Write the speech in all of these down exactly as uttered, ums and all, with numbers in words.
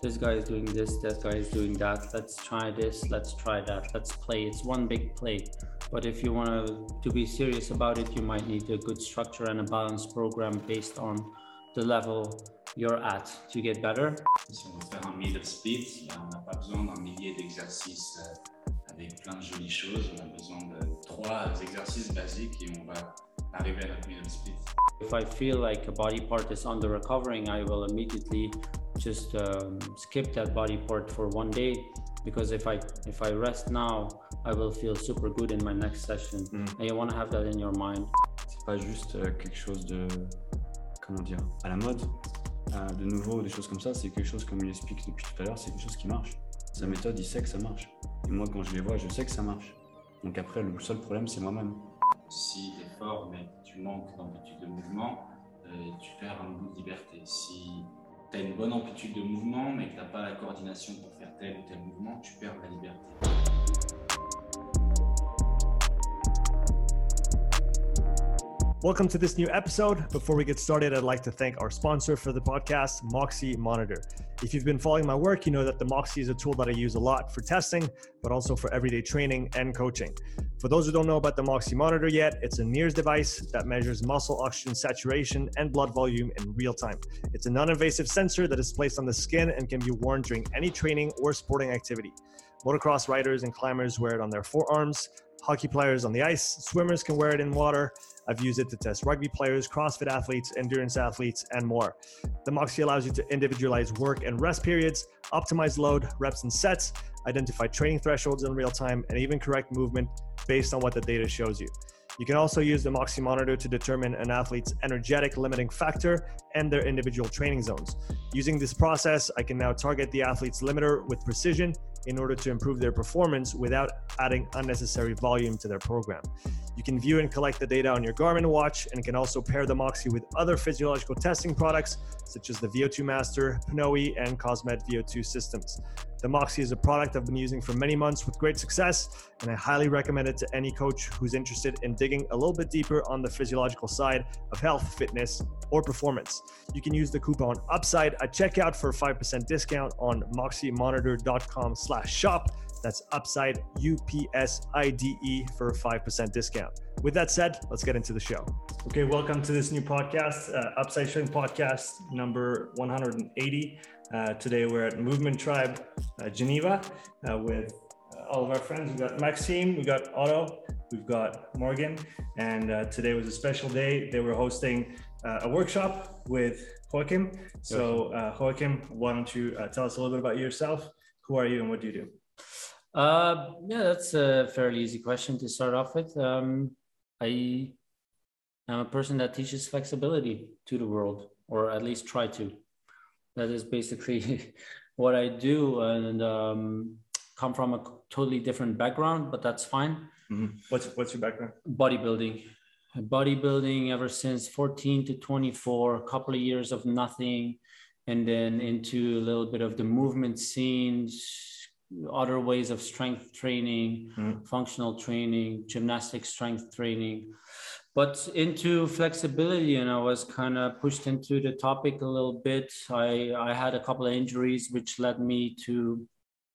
this guy is doing this, that guy is doing that. Let's try this, let's try that, let's play. It's one big play. But if you want to, to be serious about it, you might need a good structure and a balanced program based on the level you're at to get better. Si on veut faire un middle split, on n'a pas besoin d'un millier d'exercices avec plein de jolies choses. On a besoin de trois exercices basiques et on va arriver à notre middle split. If I feel like a body part is under recovering, I will immediately just um, skip that body part for one day, because if I if I rest now, I will feel super good in my next session. Mm. And you want to have that in your mind. C'est pas juste euh, quelque chose de, comment dire, à la mode, euh, de nouveau, des choses comme ça. C'est quelque chose, comme il explique depuis tout à l'heure, c'est quelque chose qui marche. Sa méthode, il sait que ça marche. Et moi, quand je les vois, je sais que ça marche. Donc après, le seul problème, c'est moi-même. Si tu es fort, mais tu manques d'amplitude de mouvement, euh, tu perds un bout de liberté. Si tu as une bonne amplitude de mouvement, mais que tu n'as pas la coordination pour faire tel ou tel mouvement, tu perds la liberté. Welcome to this new episode. Before we get started, I'd like to thank our sponsor for the podcast, Moxy Monitor. If you've been following my work, you know that the Moxy is a tool that I use a lot for testing, but also for everyday training and coaching. For those who don't know about the Moxy Monitor yet, it's a N I R S device that measures muscle oxygen saturation and blood volume in real time. It's a non-invasive sensor that is placed on the skin and can be worn during any training or sporting activity. Motocross riders and climbers wear it on their forearms. Hockey players on the ice, swimmers can wear it in water. I've used it to test rugby players, CrossFit athletes, endurance athletes, and more. The Moxy allows you to individualize work and rest periods, optimize load, reps and sets, identify training thresholds in real time, and even correct movement based on what the data shows you. You can also use the Moxy Monitor to determine an athlete's energetic limiting factor and their individual training zones. Using this process, I can now target the athlete's limiter with precision in order to improve their performance without adding unnecessary volume to their program. You can view and collect the data on your Garmin watch, and can also pair the Moxy with other physiological testing products such as the V O two Master, Pnoe, and Cosmed V O two systems. The Moxy is a product I've been using for many months with great success, and I highly recommend it to any coach who's interested in digging a little bit deeper on the physiological side of health, fitness, or performance. You can use the coupon UPSIDE at checkout for a five percent discount on moxymonitor.com slash shop. That's UPSIDE, U P S I D E, for a five percent discount. With that said, let's get into the show. Okay, welcome to this new podcast, uh, Upside Strength Podcast number one hundred eighty. Uh, today we're at Movement Tribe, uh, Geneva, uh, with uh, all of our friends. We've got Maxime, we've got Otto, we've got Morgan, and uh, today was a special day. They were hosting uh, a workshop with Joachim. So uh, Joachim, why don't you uh, tell us a little bit about yourself? Who are you and what do you do? Uh, yeah, that's a fairly easy question to start off with. Um, I am a person that teaches flexibility to the world, or at least try to. That is basically what I do, and um, come from a totally different background, but that's fine. Mm-hmm. What's what's your background? Bodybuilding. Bodybuilding ever since fourteen to twenty-four, a couple of years of nothing, and then into a little bit of the movement scenes, other ways of strength training, mm. functional training, gymnastic strength training, but into flexibility. And I was kind of pushed into the topic a little bit. I, I had a couple of injuries, which led me to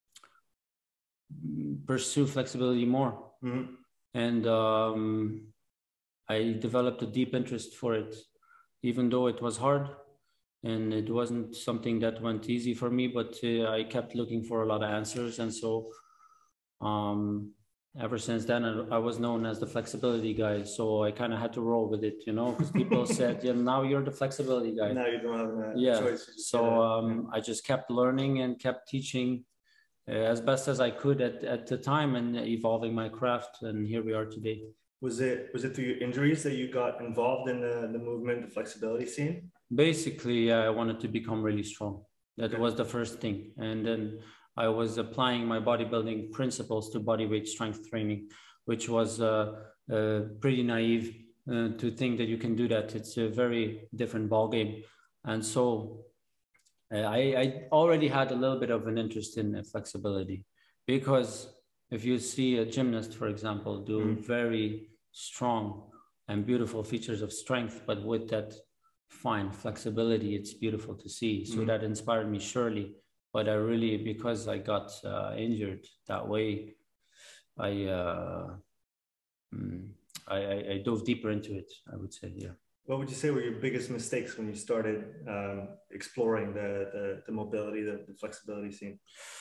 pursue flexibility more. Mm. And um, I developed a deep interest for it, even though it was hard. And it wasn't something that went easy for me, but uh, I kept looking for a lot of answers. And so um, ever since then, I, I was known as the flexibility guy. So I kind of had to roll with it, you know, because people said, yeah, now you're the flexibility guy. Now you don't have a yeah. choice. So um, I just kept learning and kept teaching uh, as best as I could at, at the time, and evolving my craft. And here we are today. Was it, was it through your injuries that you got involved in the, the movement, the flexibility scene? Basically, I wanted to become really strong. That okay. was the first thing. And then I was applying my bodybuilding principles to bodyweight strength training, which was uh, uh, pretty naive uh, to think that you can do that. It's a very different ballgame. And so uh, I, I already had a little bit of an interest in uh, flexibility, because if you see a gymnast, for example, do mm. very strong and beautiful features of strength, but with that fine flexibility, it's beautiful to see. So mm-hmm. that inspired me surely but I really, because I got uh, injured that way, I, uh, mm, I, I I dove deeper into it, I would say. Yeah. What would you say were your biggest mistakes when you started um, exploring the, the the mobility, the, the flexibility scene?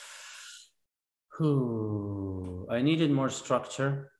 Ooh, I needed more structure.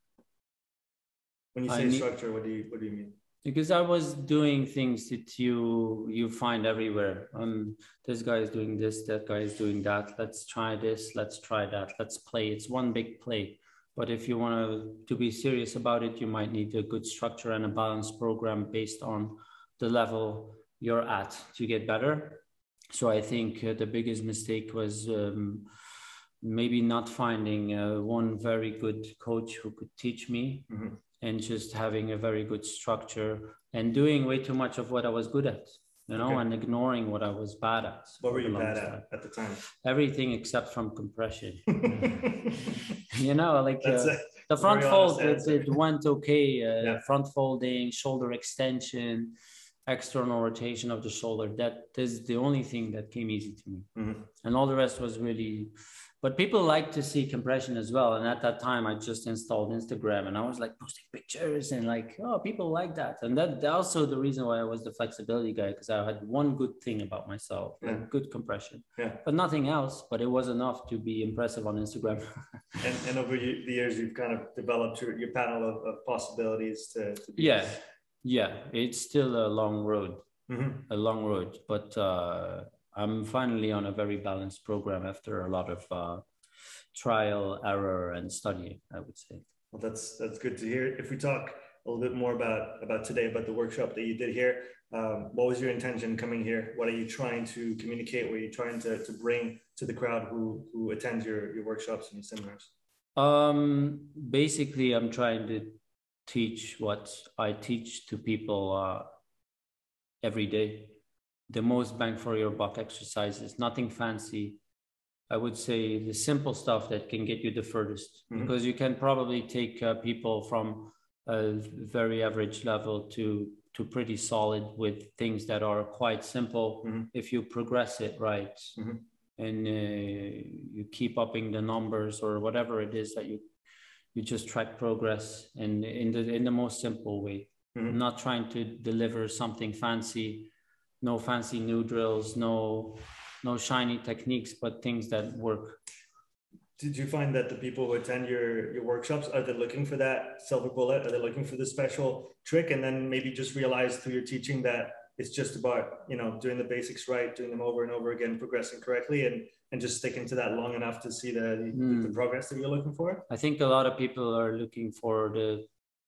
When you I say need- structure, what do you what do you mean? Because I was doing things that you you find everywhere. Um, this guy is doing this, that guy is doing that. Let's try this, let's try that, let's play. It's one big play. But if you want to, to be serious about it, you might need a good structure and a balanced program based on the level you're at to get better. So I think uh, the biggest mistake was um, maybe not finding uh, one very good coach who could teach me. Mm-hmm. And just having a very good structure and doing way too much of what I was good at, you know, Okay. and ignoring what I was bad at. What for were the you bad longest at time. at the time? Everything except from compression. You know, like That's uh, a the front very fold, honest it, answer. it went okay. Uh, Yeah. Front folding, shoulder extension, external rotation of the shoulder. That is the only thing that came easy to me. Mhm. And all the rest was really, but people like to see compression as well. And at that time I just installed Instagram and I was like posting pictures and like, oh, people like that. And that also the reason why I was the flexibility guy, because I had one good thing about myself, Yeah. like good compression, Yeah. but nothing else, but it was enough to be impressive on Instagram. And, and over you- the years, you've kind of developed your, your panel of, of possibilities to, to be. Yeah. Yeah. It's still a long road, Mhm. a long road, but uh, I'm finally on a very balanced program after a lot of uh, trial, error, and studying, I would say. Well, that's that's good to hear. If we talk a little bit more about about today, about the workshop that you did here, um, what was your intention coming here? What are you trying to communicate? What are you trying to, to bring to the crowd who who attends your, your workshops and your seminars? Um, basically, I'm trying to teach what I teach to people uh, every day. The most bang for your buck exercises, nothing fancy. I would say the simple stuff that can get you the furthest, Mhm. because you can probably take uh, people from a very average level to to pretty solid with things that are quite simple Mhm. if you progress it right. Mhm. And uh, you keep upping the numbers or whatever it is that you you just track progress and in the in the most simple way. Mhm. Not trying to deliver something fancy, no fancy new drills, no no shiny techniques, but things that work. Did you find that the people who attend your, your workshops, are they looking for that silver bullet? Are they looking for the special trick? And then maybe just realize through your teaching that it's just about, you know, doing the basics right, doing them over and over again, progressing correctly, and, and just sticking to that long enough to see the, the, Mm. the progress that you're looking for? I think a lot of people are looking for the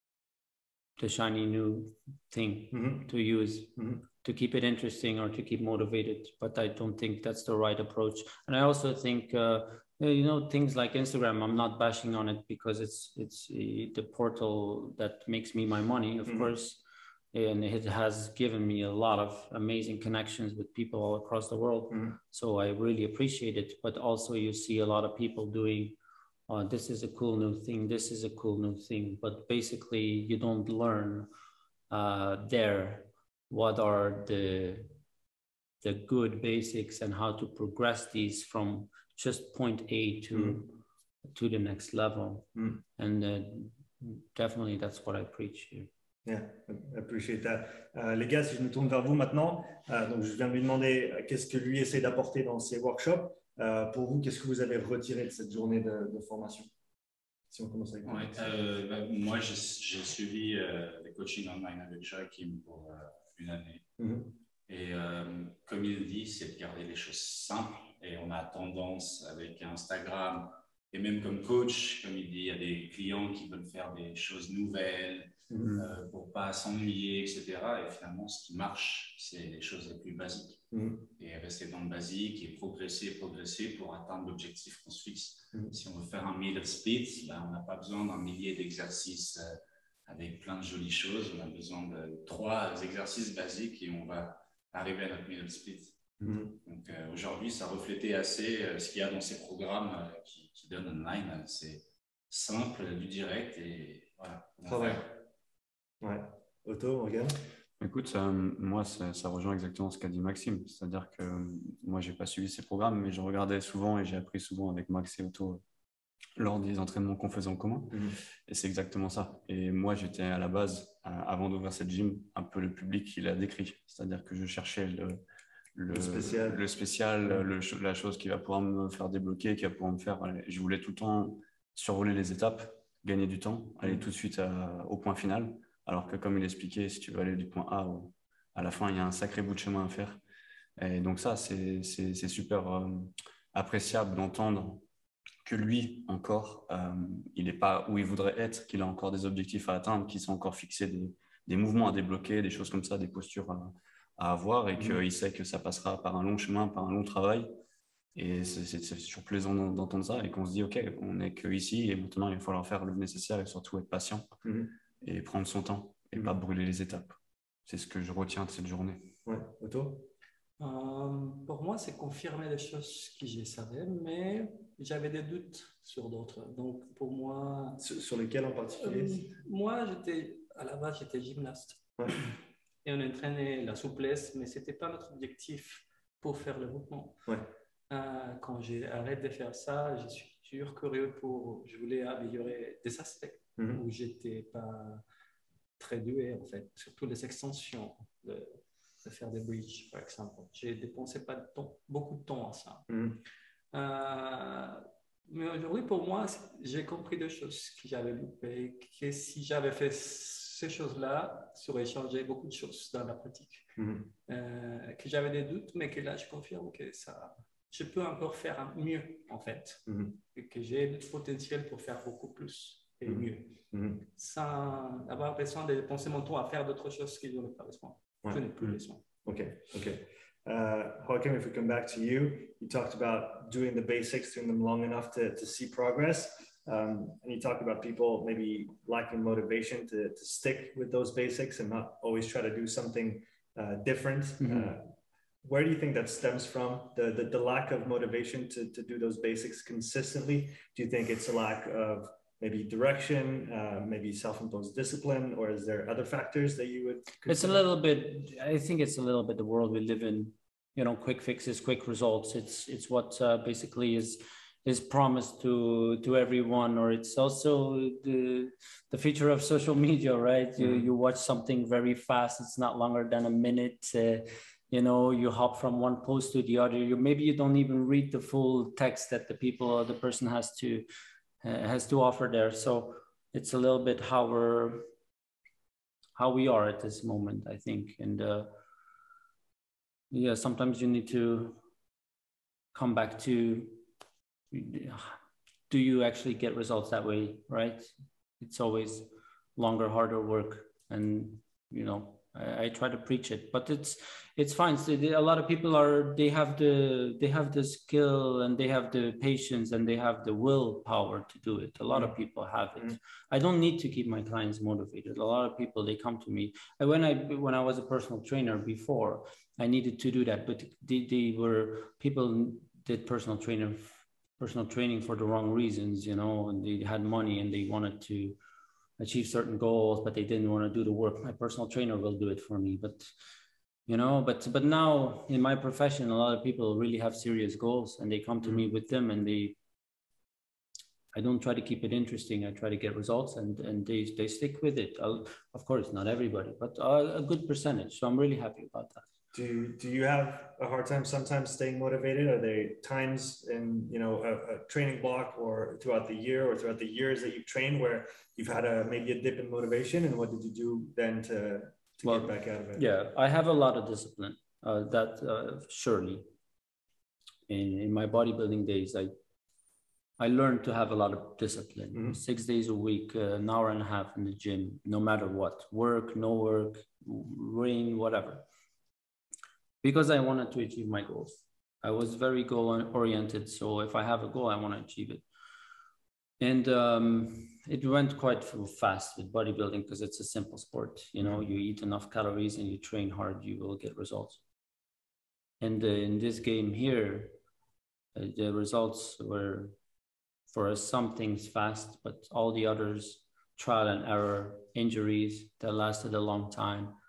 the shiny new thing Mm-hmm. to use Mhm. to keep it interesting or to keep motivated. But I don't think that's the right approach. And I also think, uh, you know, things like Instagram, I'm not bashing on it because it's it's uh, the portal that makes me my money, of Mhm. course. And it has given me a lot of amazing connections with people all across the world. Mhm. So I really appreciate it. But also you see a lot of people doing, oh, this is a cool new thing, this is a cool new thing. But basically you don't learn uh, there what are the the good basics and how to progress these from just point A to Mm. to the next level. Mm. And uh, definitely that's what I preach here. Yeah, I appreciate that. Euh, les gars, si je me tourne vers vous maintenant, euh, donc je viens de lui demander euh, qu'est-ce que lui essaie d'apporter dans ses workshops. Euh, pour vous, qu'est-ce que vous avez retiré de cette journée de, de formation? Si on commence avec vous. Ouais, euh, bah, moi, j'ai j'ai suivi euh, des coachings online avec Joachim pour euh, une année. Mhm. Et euh, comme il dit, c'est de garder les choses simples. Et on a tendance avec Instagram, et même comme coach, comme il dit, il y a des clients qui veulent faire des choses nouvelles Mhm. euh, pour pas s'ennuyer, et cetera. Et finalement, ce qui marche, c'est les choses les plus basiques. Mhm. Et rester dans le basique et progresser, progresser pour atteindre l'objectif qu'on se fixe. Mhm. Si on veut faire un middle split, ben, on n'a pas besoin d'un millier d'exercices euh, avec plein de jolies choses. On a besoin de trois exercices basiques et on va arriver à notre middle split. Mhm. Donc euh, aujourd'hui, ça reflétait assez euh, ce qu'il y a dans ces programmes euh, qui, qui donnent online. C'est simple, du direct et voilà. on va Travail. faire. Ouais. Otto, Morgan? Écoute, euh, moi, ça, ça rejoint exactement ce qu'a dit Maxime. C'est-à-dire que euh, moi, j'ai pas suivi ces programmes, mais je regardais souvent et j'ai appris souvent avec Max et Otto lors des entraînements qu'on faisait en commun. Mhm. Et c'est exactement ça. Et moi, j'étais à la base, euh, avant d'ouvrir cette gym, un peu le public qui l'a décrit. C'est-à-dire que je cherchais le, le, Le spécial. le spécial, le, la chose qui va pouvoir me faire débloquer, qui va pouvoir me faire. Je voulais tout le temps survoler les étapes, gagner du temps, aller tout de suite à, au point final. Alors que, comme il expliquait, si tu veux aller du point A au, à la fin, il y a un sacré bout de chemin à faire. Et donc, ça, c'est super euh, appréciable d'entendre que lui, encore, euh, il n'est pas où il voudrait être, qu'il a encore des objectifs à atteindre, qu'il s'est encore fixé des, des mouvements à débloquer, des choses comme ça, des postures à, à avoir, et qu'il mmh. sait que ça passera par un long chemin, par un long travail. Et c'est toujours plaisant d'entendre ça, et qu'on se dit, OK, on n'est qu'ici, et maintenant, il va falloir faire le nécessaire, et surtout être patient, mmh. et prendre son temps, et mmh. pas brûler les étapes. C'est ce que je retiens de cette journée. Ouais, Otto ? Euh, pour moi, c'est confirmer les choses que je savais, mais j'avais des doutes sur d'autres. Donc, pour moi... Sur, sur lesquels en particulier euh, Moi, j'étais, à la base, j'étais gymnaste. Ouais. Et on entraînait la souplesse, mais ce n'était pas notre objectif pour faire le mouvement. Ouais. Euh, quand j'ai arrêté de faire ça, je suis toujours curieux pour... Je voulais améliorer des aspects mm-hmm. où je n'étais pas très doué, en fait. Surtout les extensions de... de faire des bridges, par exemple. J'ai dépensé pas de temps, beaucoup de temps à ça. Mmh. Euh, mais aujourd'hui, pour moi, j'ai compris deux choses que j'avais loupées, que si j'avais fait ces choses-là, ça aurait changé beaucoup de choses dans la pratique. Mmh. Euh, que j'avais des doutes, mais que là, je confirme que ça, je peux encore faire mieux, en fait. Mmh. Et que j'ai le potentiel pour faire beaucoup plus et mmh. mieux. Mmh. Sans avoir besoin de dépenser mon temps à faire d'autres choses que je n'ai pas besoin. Ouais. Je n'ai plus besoin. Okay, okay. Uh, Joachim, if we come back to you, you talked about doing the basics, doing them long enough to, to see progress. Um, and you talked about people maybe lacking motivation to, to stick with those basics and not always try to do something uh, different. Mm-hmm. uh, where do you think that stems from, the, the, the lack of motivation to, to do those basics consistently? Do you think it's a lack of maybe direction, uh, maybe self-imposed discipline, or is there other factors that you would consider? It's a little bit, I think it's a little bit the world we live in, you know, quick fixes, quick results. It's it's what uh, basically is is promised to to everyone, or it's also the the feature of social media, right? Mm-hmm. You you watch something very fast. It's not longer than a minute. Uh, you know, you hop from one post to the other. You maybe you don't even read the full text that the people or the person has to Uh, has to offer there. So it's a little bit how we're how we are at this moment, I think. And uh, yeah, sometimes you need to come back to, do you actually get results that way, right? It's always longer, harder work, and you know, I, I try to preach it, but it's it's fine. So a lot of people are they have the they have the skill and they have the patience and they have the willpower to do it. A lot of people have it. Mm-hmm. I don't need to keep my clients motivated. A lot of people, they come to me. And when I when I was a personal trainer before, I needed to do that, but they, they were people did personal trainer personal training for the wrong reasons, you know, and they had money and they wanted to achieve certain goals, but they didn't want to do the work. My personal trainer will do it for me, but you know, but but now in my profession, a lot of people really have serious goals, and they come to me with them, and they. I don't try to keep it interesting. I try to get results, and and they they stick with it. I'll, of course, not everybody, but a, a good percentage. So I'm really happy about that. Do do you have a hard time sometimes staying motivated? Are there times in you know a, a training block or throughout the year or throughout the years that you've trained where you've had a maybe a dip in motivation, and what did you do then to to well, get back out of it? Yeah, I have a lot of discipline. Uh, that uh, surely. In in my bodybuilding days, I I learned to have a lot of discipline. Mm-hmm. Six days a week, uh, an hour and a half in the gym, no matter what, work, no work, rain, whatever. Because I wanted to achieve my goals. I was very goal oriented. So if I have a goal, I want to achieve it. And um, it went quite fast with bodybuilding because it's a simple sport. You know, you eat enough calories and you train hard, you will get results. And uh, in this game here, uh, the results were for us, some things fast, but all the others, trial and error, injuries that lasted a long time.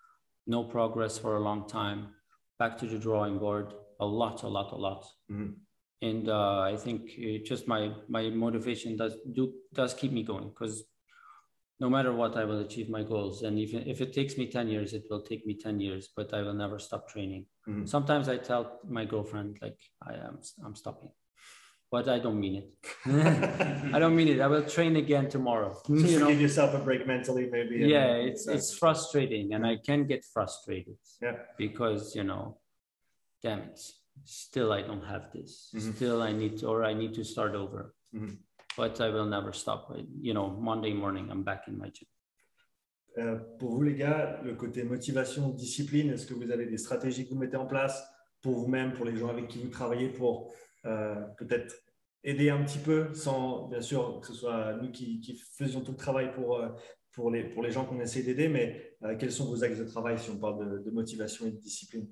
no progress for a long time, back to the drawing board, a lot, a lot, a lot. Mm-hmm. And uh, I think it just my my motivation does do does keep me going, because no matter what, I will achieve my goals. And even if it takes me ten years, it will take me ten years, but I will never stop training. Mm-hmm. Sometimes I tell my girlfriend, like, I am I'm stopping, but I don't mean it. I don't mean it. I will train again tomorrow. Just you know? Give yourself a break mentally, maybe. Yeah, it's it's frustrating, and I can get frustrated. Yeah. Because, you know, damn it, still I don't have this. Mm-hmm. Still I need to, or I need to start over. Mm-hmm. But I will never stop. You know, Monday morning, I'm back in my gym. Euh, pour vous les gars, le côté motivation, discipline, est-ce que vous avez des stratégies que vous mettez en place pour vous-même, pour les gens avec qui vous travaillez, pour euh, peut-être aider un petit peu, sans bien sûr que ce soit nous qui, qui faisions tout le travail pour, euh, pour, les, pour les gens qu'on essaie d'aider, mais euh, quels sont vos axes de travail si on parle de, de motivation et de discipline?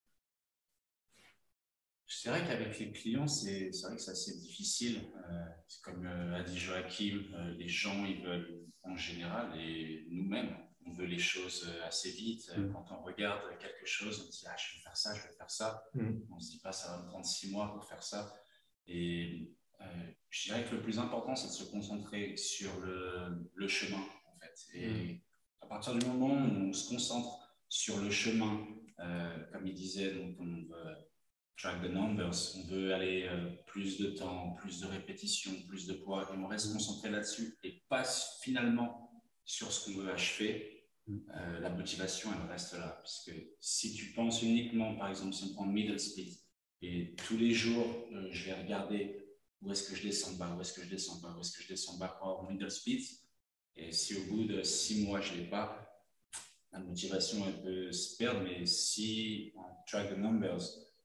C'est vrai qu'avec les clients, c'est vrai que c'est assez difficile. Euh, comme euh, a dit Joachim, euh, les gens, ils veulent en général, et nous-mêmes, on veut les choses assez vite. Mm. Quand on regarde quelque chose, on se dit « Ah, je vais faire ça, je vais faire ça mm. ». On ne se dit pas « Ça va me prendre six mois pour faire ça ». Et euh, je dirais que le plus important, c'est de se concentrer sur le, le chemin, en fait. Et mm. à partir du moment où on se concentre sur le chemin, euh, comme il disait, donc on veut track the numbers, on veut aller euh, plus de temps, plus de répétitions, plus de poids, et on reste concentré là-dessus et pas finalement sur ce qu'on veut achever, euh, la motivation, elle reste là. Puisque si tu penses uniquement, par exemple, si on prend middle split, et tous les jours, euh, je vais regarder où est-ce que je descends bas, où est-ce que je descends bas, où est-ce que je descends bas pour avoir middle split, et si au bout de six mois, je ne l'ai pas, la motivation, elle peut se perdre, mais si on track the numbers,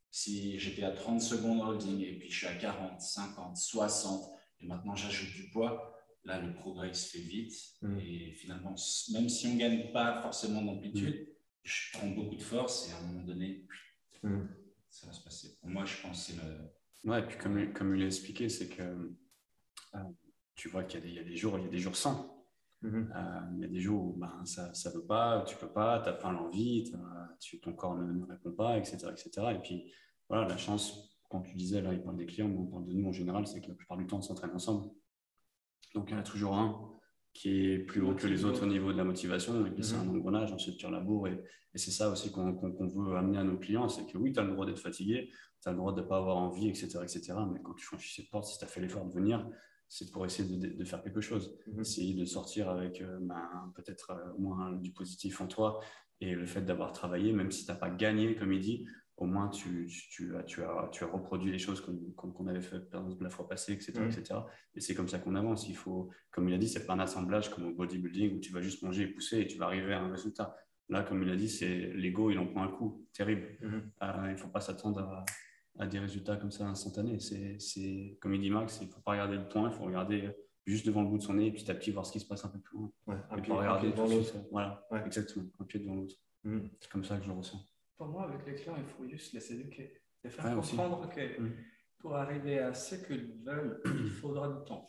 si j'étais à trente secondes holding et puis je suis à quarante, cinquante, soixante et maintenant j'ajoute du poids, là le progrès se fait vite. Mmh. Et finalement, même si on ne gagne pas forcément d'amplitude, mmh. je prends beaucoup de force et à un moment donné, mmh. ça va se passer. Pour moi, je pense que c'est le... Ouais, et puis comme, comme il l'a expliqué, c'est que euh, tu vois qu'il y, y a des jours, il y a des jours sans. Mm-hmm. Euh, il y a des jours où ben, ça ne veut pas, tu ne peux pas, tu n'as pas l'envie, tu, ton corps ne, ne répond pas, et cetera, et cetera. Et puis, voilà, la chance, quand tu disais, là, il parle des clients, mais on parle de nous en général, c'est que la plupart du temps, on s'entraîne ensemble. Donc, il y en a toujours un qui est plus haut que les autres au niveau de la motivation, et puis mm-hmm. c'est un engrenage, ensuite tu laboures. Et, et c'est ça aussi qu'on qu'on, qu'on veut amener à nos clients, c'est que oui, tu as le droit d'être fatigué, tu as le droit de ne pas avoir envie, et cetera, et cetera. Mais quand tu franchis cette porte, si tu as fait l'effort de venir, c'est pour essayer de, de, de faire quelque chose, mmh. essayer de sortir avec euh, ben, peut-être euh, au moins du positif en toi, et le fait d'avoir travaillé, même si tu n'as pas gagné, comme il dit, au moins tu, tu, tu, as, tu, as, tu as reproduit les choses qu'on qu'on avait fait la fois passée, et cetera, mmh. et cetera. Et c'est comme ça qu'on avance. Il faut, comme il a dit, c'est pas un assemblage comme au bodybuilding où tu vas juste manger et pousser et tu vas arriver à un résultat. Là, comme il a dit, c'est l'ego, il en prend un coup terrible. Mmh. Euh, il ne faut pas s'attendre à à des résultats comme ça instantanés. C'est, c'est, comme il dit Max, il ne faut pas regarder le point, il faut regarder juste devant le bout de son nez et petit à petit voir ce qui se passe un peu plus loin. Ouais, un, pied, pas regarder un pied devant l'autre. Voilà, ouais. Exactement, un pied devant l'autre. Mmh. C'est comme ça que je le ressens. Pour moi, avec les clients, il faut juste les éduquer. Les faire ouais, comprendre aussi. que mmh. pour arriver à ce qu'ils veulent, il faudra du temps.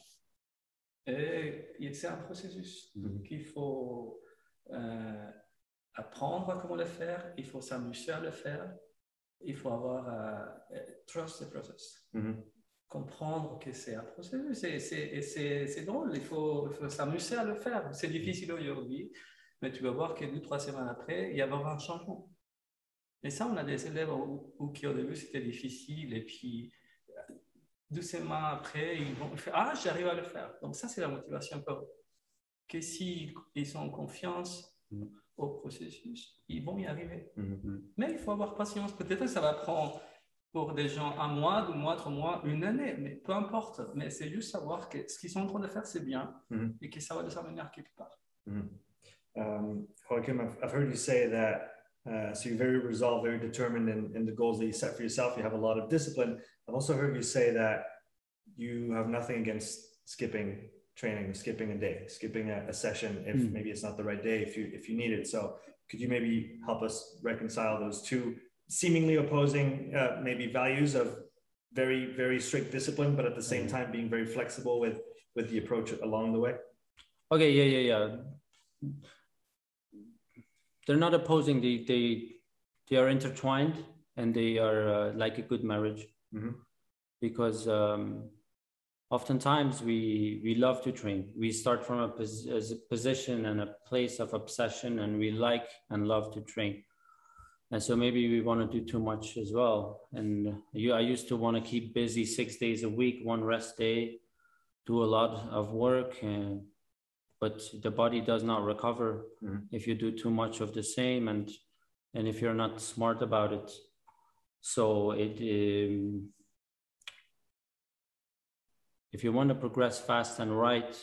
Et c'est un processus mmh. qu'il faut euh, apprendre comment le faire, il faut s'amuser à le faire. Il faut avoir uh, trust the process. Mm-hmm. Comprendre que c'est un processus. Et c'est drôle, il faut, il faut s'amuser à le faire. C'est difficile aujourd'hui, mais tu vas voir que deux, trois semaines après, il y avoir un changement. Et ça, on a des élèves où, où qui au début c'était difficile, et puis deux semaines après, ils vont faire ah, j'arrive à le faire. Donc, ça, c'est la motivation pour eux. Que s'ils ils ont confiance, mm-hmm. au processus, ils vont y arriver. Mm-hmm. Mais il faut avoir patience. Peut-être que ça va prendre pour des gens un mois, deux mois, trois mois, une année, mais peu importe. Mais c'est juste savoir que ce qu'ils sont en train de faire, c'est bien mm-hmm. et que ça va les amener à quelque part. Mm-hmm. um, Joachim, I've, I've heard you say that uh, so you're very resolved, very determined in, in the goals that you set for yourself. You have a lot of discipline. I've also heard you say that you have nothing against skipping training, skipping a day, skipping a, a session if mm. maybe it's not the right day, if you if you need it. So could you maybe help us reconcile those two seemingly opposing uh, maybe values of very, very strict discipline, but at the same time being very flexible with, with the approach along the way? Okay, yeah, yeah, yeah. they're not opposing. They they they are intertwined, and they are uh, like a good marriage. Mm-hmm. Because um, oftentimes we we love to train. We start from a, pos- as a position and a place of obsession, and we like and love to train. And so maybe we want to do too much as well. And you, I used to want to keep busy six days a week, one rest day, do a lot of work, and, but the body does not recover mm-hmm. if you do too much of the same, and and if you're not smart about it. So it um, if you want to progress fast and right,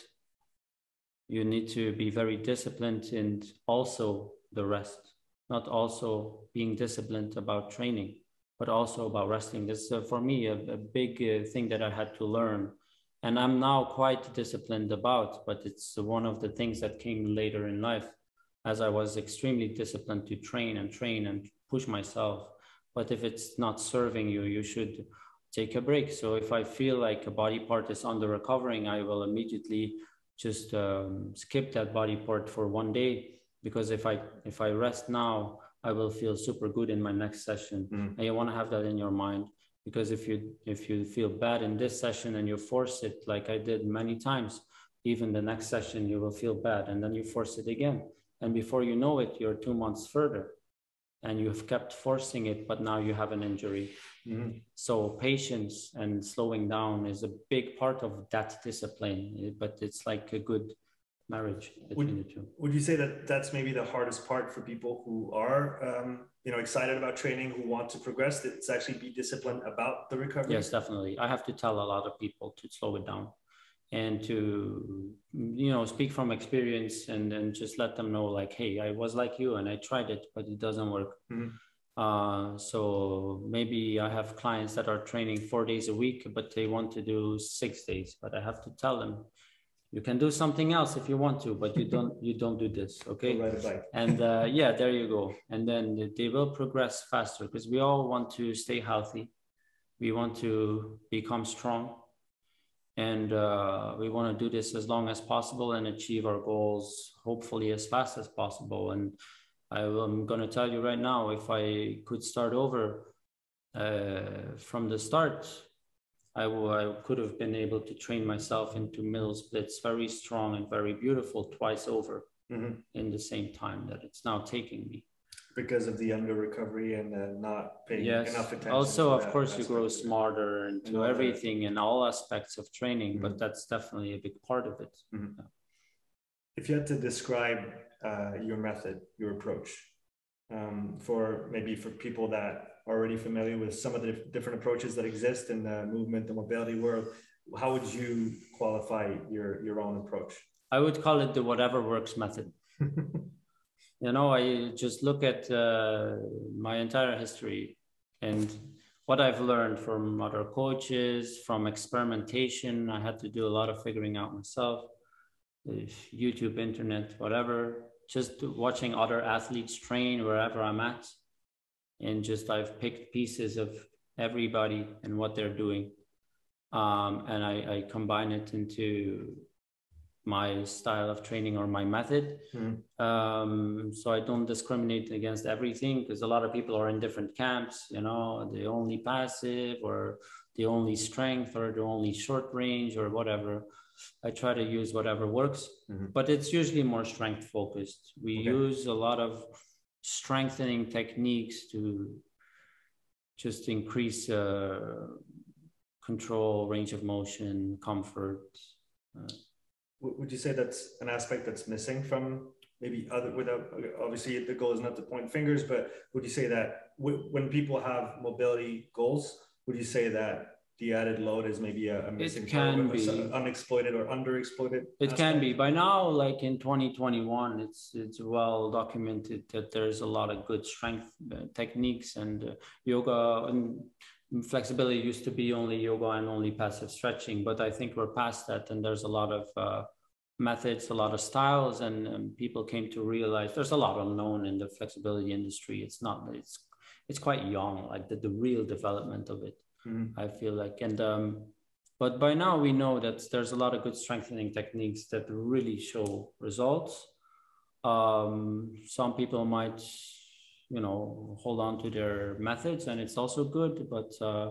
you need to be very disciplined and also the rest. Not also being disciplined about training, but also about resting. This is uh, for me a, a big uh, thing that I had to learn, and I'm now quite disciplined about, but it's one of the things that came later in life, as I was extremely disciplined to train and train and push myself. But if it's not serving you, you should take a break. So if I feel like a body part is under recovering, I will immediately just um, skip that body part for one day. Because if I if I rest now, I will feel super good in my next session. Mm. And you want to have that in your mind, because if you if you feel bad in this session and you force it, like I did many times, even the next session you will feel bad, and then you force it again, and before you know it, you're two months further, and you've kept forcing it, but now you have an injury. Mm. So patience and slowing down is a big part of that discipline, but it's like a good marriage between would, the two. Would you say that that's maybe the hardest part for people who are, um, you know, excited about training, who want to progress, that it's actually be disciplined about the recovery? Yes, definitely. I have to tell a lot of people to slow it down and to, you know, speak from experience, and and just let them know, like, hey, I was like you and I tried it, but it doesn't work. Mm-hmm. Uh, so maybe I have clients that are training four days a week, but they want to do six days, but I have to tell them, you can do something else if you want to, but you don't you don't do this, okay? Go ride a bike. And uh, yeah, there you go. And then they will progress faster, because we all want to stay healthy. We want to become strong. And uh, we want to do this as long as possible and achieve our goals, hopefully as fast as possible. And I, I'm going to tell you right now, if I could start over uh, from the start, I, I could have been able to train myself into middle splits, very strong and very beautiful, twice over mm-hmm. in the same time that it's now taking me. Because of the under recovery and uh, not paying yes. enough attention. Also, of course, you grow smarter into everything that. In all aspects of training, mm-hmm. but that's definitely a big part of it. Mm-hmm. Yeah. If you had to describe uh, your method, your approach, um, for maybe for people that are already familiar with some of the different approaches that exist in the movement and mobility world, how would you qualify your, your own approach? I would call it the whatever works method. You know, I just look at uh, my entire history and what I've learned from other coaches, from experimentation. I had to do a lot of figuring out myself, YouTube, internet, whatever, just watching other athletes train wherever I'm at. And just I've picked pieces of everybody and what they're doing. Um, and I, I combine it into my style of training or my method. Mm-hmm. Um, so I don't discriminate against everything, because a lot of people are in different camps, you know, the only passive or the only strength or the only short range or whatever. I try to use whatever works, mm-hmm. but it's usually more strength focused. We okay. use a lot of strengthening techniques to just increase uh, control, range of motion, comfort. Uh, Would you say that's an aspect that's missing from maybe other, without, obviously the goal is not to point fingers, but would you say that w- when people have mobility goals, would you say that the added load is maybe a, a missing, it can be unexploited or underexploited? It aspect? Can be. By now, like in twenty twenty-one, it's it's well documented that there's a lot of good strength uh, techniques, and uh, yoga and flexibility used to be only yoga and only passive stretching, but I think we're past that, and there's a lot of uh, methods, a lot of styles, and um, people came to realize there's a lot unknown in the flexibility industry. It's not, it's it's quite young, like the, the real development of it, mm-hmm. I feel like. And um, but by now we know that there's a lot of good strengthening techniques that really show results. Um, some people might, you know, hold on to their methods, and it's also good. But uh,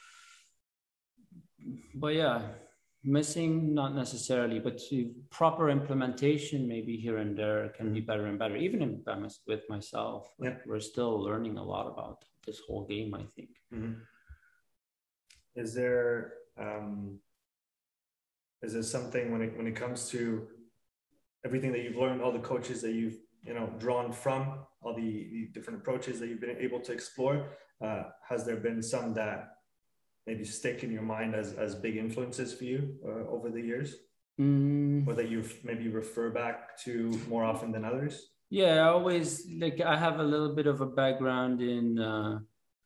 but yeah, missing not necessarily, but proper implementation maybe here and there can mm-hmm. be better and better. Even in, with myself, yeah. like, we're still learning a lot about this whole game, I think. Mm-hmm. Is there um, is there something when it when it comes to everything that you've learned, all the coaches that you've you know drawn from, all the, the different approaches that you've been able to explore, uh, has there been some that maybe stick in your mind as, as big influences for you uh, over the years? Mm. Or that you maybe refer back to more often than others? Yeah, I always, like, I have a little bit of a background in, uh,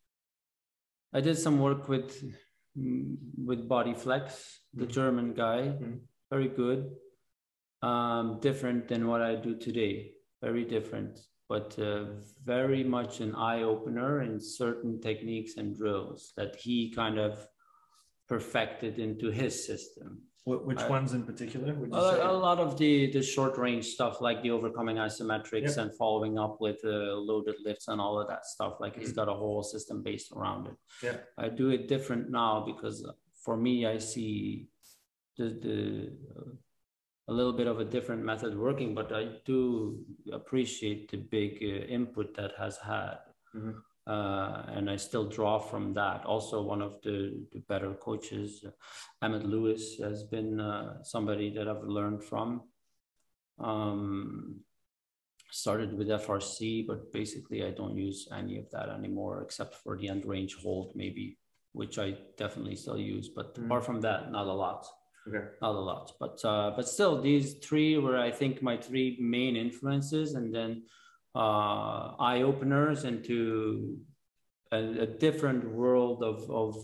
I did some work with, with Bodyflex, the mm. German guy, mm. very good. Um, different than what I do today, very different, but uh, very much an eye-opener in certain techniques and drills that he kind of perfected into his system. Which I, ones in particular would you a, say? A lot of the, the short-range stuff, like the overcoming isometrics, yep. and following up with uh, loaded lifts and all of that stuff. Like, mm-hmm. he's got a whole system based around it. Yeah. I do it different now because for me, I see the, the uh, a little bit of a different method working, but I do appreciate the big uh, input that has had. Mm-hmm. Uh, and I still draw from that. Also, one of the, the better coaches, uh, Emmett Lewis, has been uh, somebody that I've learned from. Um, started with F R C, but basically I don't use any of that anymore, except for the end range hold maybe, which I definitely still use. But mm-hmm. apart from that, not a lot. Okay. Not a lot, but uh, but still, these three were, I think, my three main influences, and then uh, eye openers into a, a different world of of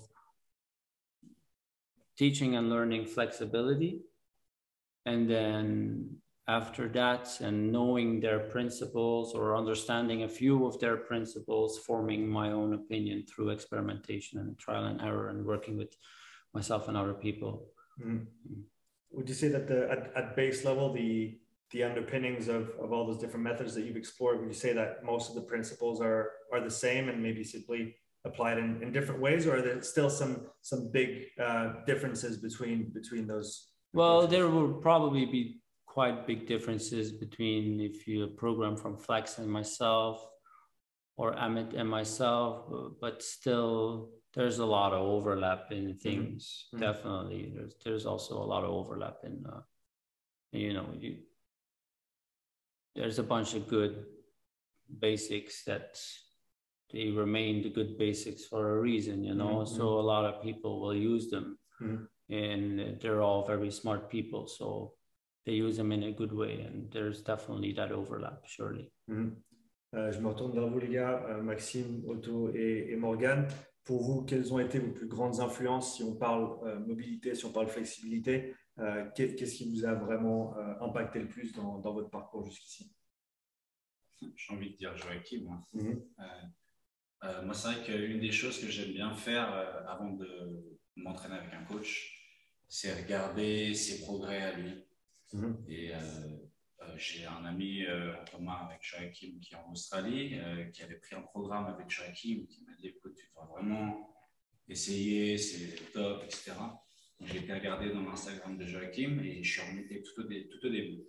teaching and learning flexibility, and then after that, and knowing their principles or understanding a few of their principles, forming my own opinion through experimentation and trial and error, and working with myself and other people. Mm. Would you say that the at, at base level, the the underpinnings of, of all those different methods that you've explored, would you say that most of the principles are are the same and maybe simply applied in, in different ways, or are there still some some big uh, differences between between those? Well, approaches? There will probably be quite big differences between if you program from Flex and myself, or Amit and myself, but still there's a lot of overlap in things. Mm-hmm. Definitely, there's there's also a lot of overlap in, uh, you know, you, there's a bunch of good basics that they remain the good basics for a reason, you know. Mm-hmm. So a lot of people will use them, mm-hmm. and they're all very smart people, so they use them in a good way, and there's definitely that overlap, surely. Mm-hmm. Euh, je me retourne vers vous, les gars, euh, Maxime, Otto et, et Morgan. Pour vous, quelles ont été vos plus grandes influences si on parle euh, mobilité, si on parle flexibilité? euh, Qu'est-ce qui vous a vraiment euh, impacté le plus dans, dans votre parcours jusqu'ici? J'ai envie de dire Joachim. Hein. Mm-hmm. euh, euh, moi, c'est vrai qu'une des choses que j'aime bien faire euh, avant de m'entraîner avec un coach, c'est regarder ses progrès à lui. Mm-hmm. Et euh, Euh, j'ai un ami euh, en commun avec Joachim qui est en Australie, euh, qui avait pris un programme avec Joachim, qui m'a dit écoute, tu dois vraiment essayer, c'est top, et cetera. Donc, j'ai été regarder dans l'Instagram de Joachim et je suis remonté tout au, dé tout au début.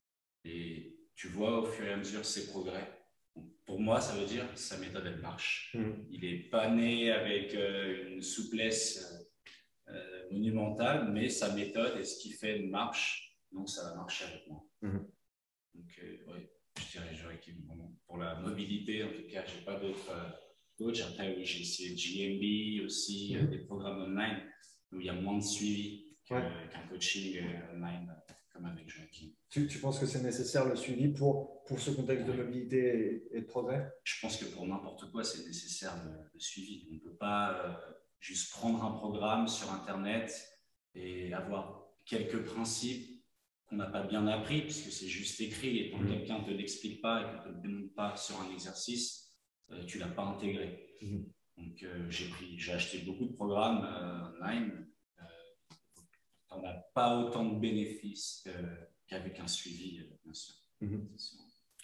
Et tu vois au fur et à mesure ses progrès. Donc, pour moi, ça veut dire que sa méthode, elle marche. Mmh. Il n'est pas né avec euh, une souplesse euh, monumentale, mais sa méthode et ce qu'il fait marche. Donc, ça va marcher avec moi. Mmh. Donc, euh, oui, je dirais Joachim. Pour la mobilité, en tout cas, je n'ai pas d'autres euh, coachs. Après, oui, j'ai essayé G M B aussi, mmh. euh, des programmes online où il y a moins de suivi qu'un ouais. qu coaching euh, online euh, comme avec Joachim. Tu, tu penses que c'est nécessaire le suivi pour, pour ce contexte ouais. de mobilité et, et de progrès? Je pense que pour n'importe quoi, c'est nécessaire le, le suivi. On ne peut pas euh, juste prendre un programme sur Internet et avoir quelques principes qu'on n'a pas bien appris, puisque c'est juste écrit, et quand mmh. quelqu'un ne te l'explique pas et qu'on ne te le démontre pas sur un exercice, euh, tu ne l'as pas intégré. Mmh. Donc, euh, j'ai pris, j'ai acheté beaucoup de programmes euh, online. Euh, on n'a pas autant de bénéfices euh, qu'avec un suivi, euh, bien sûr. Mmh.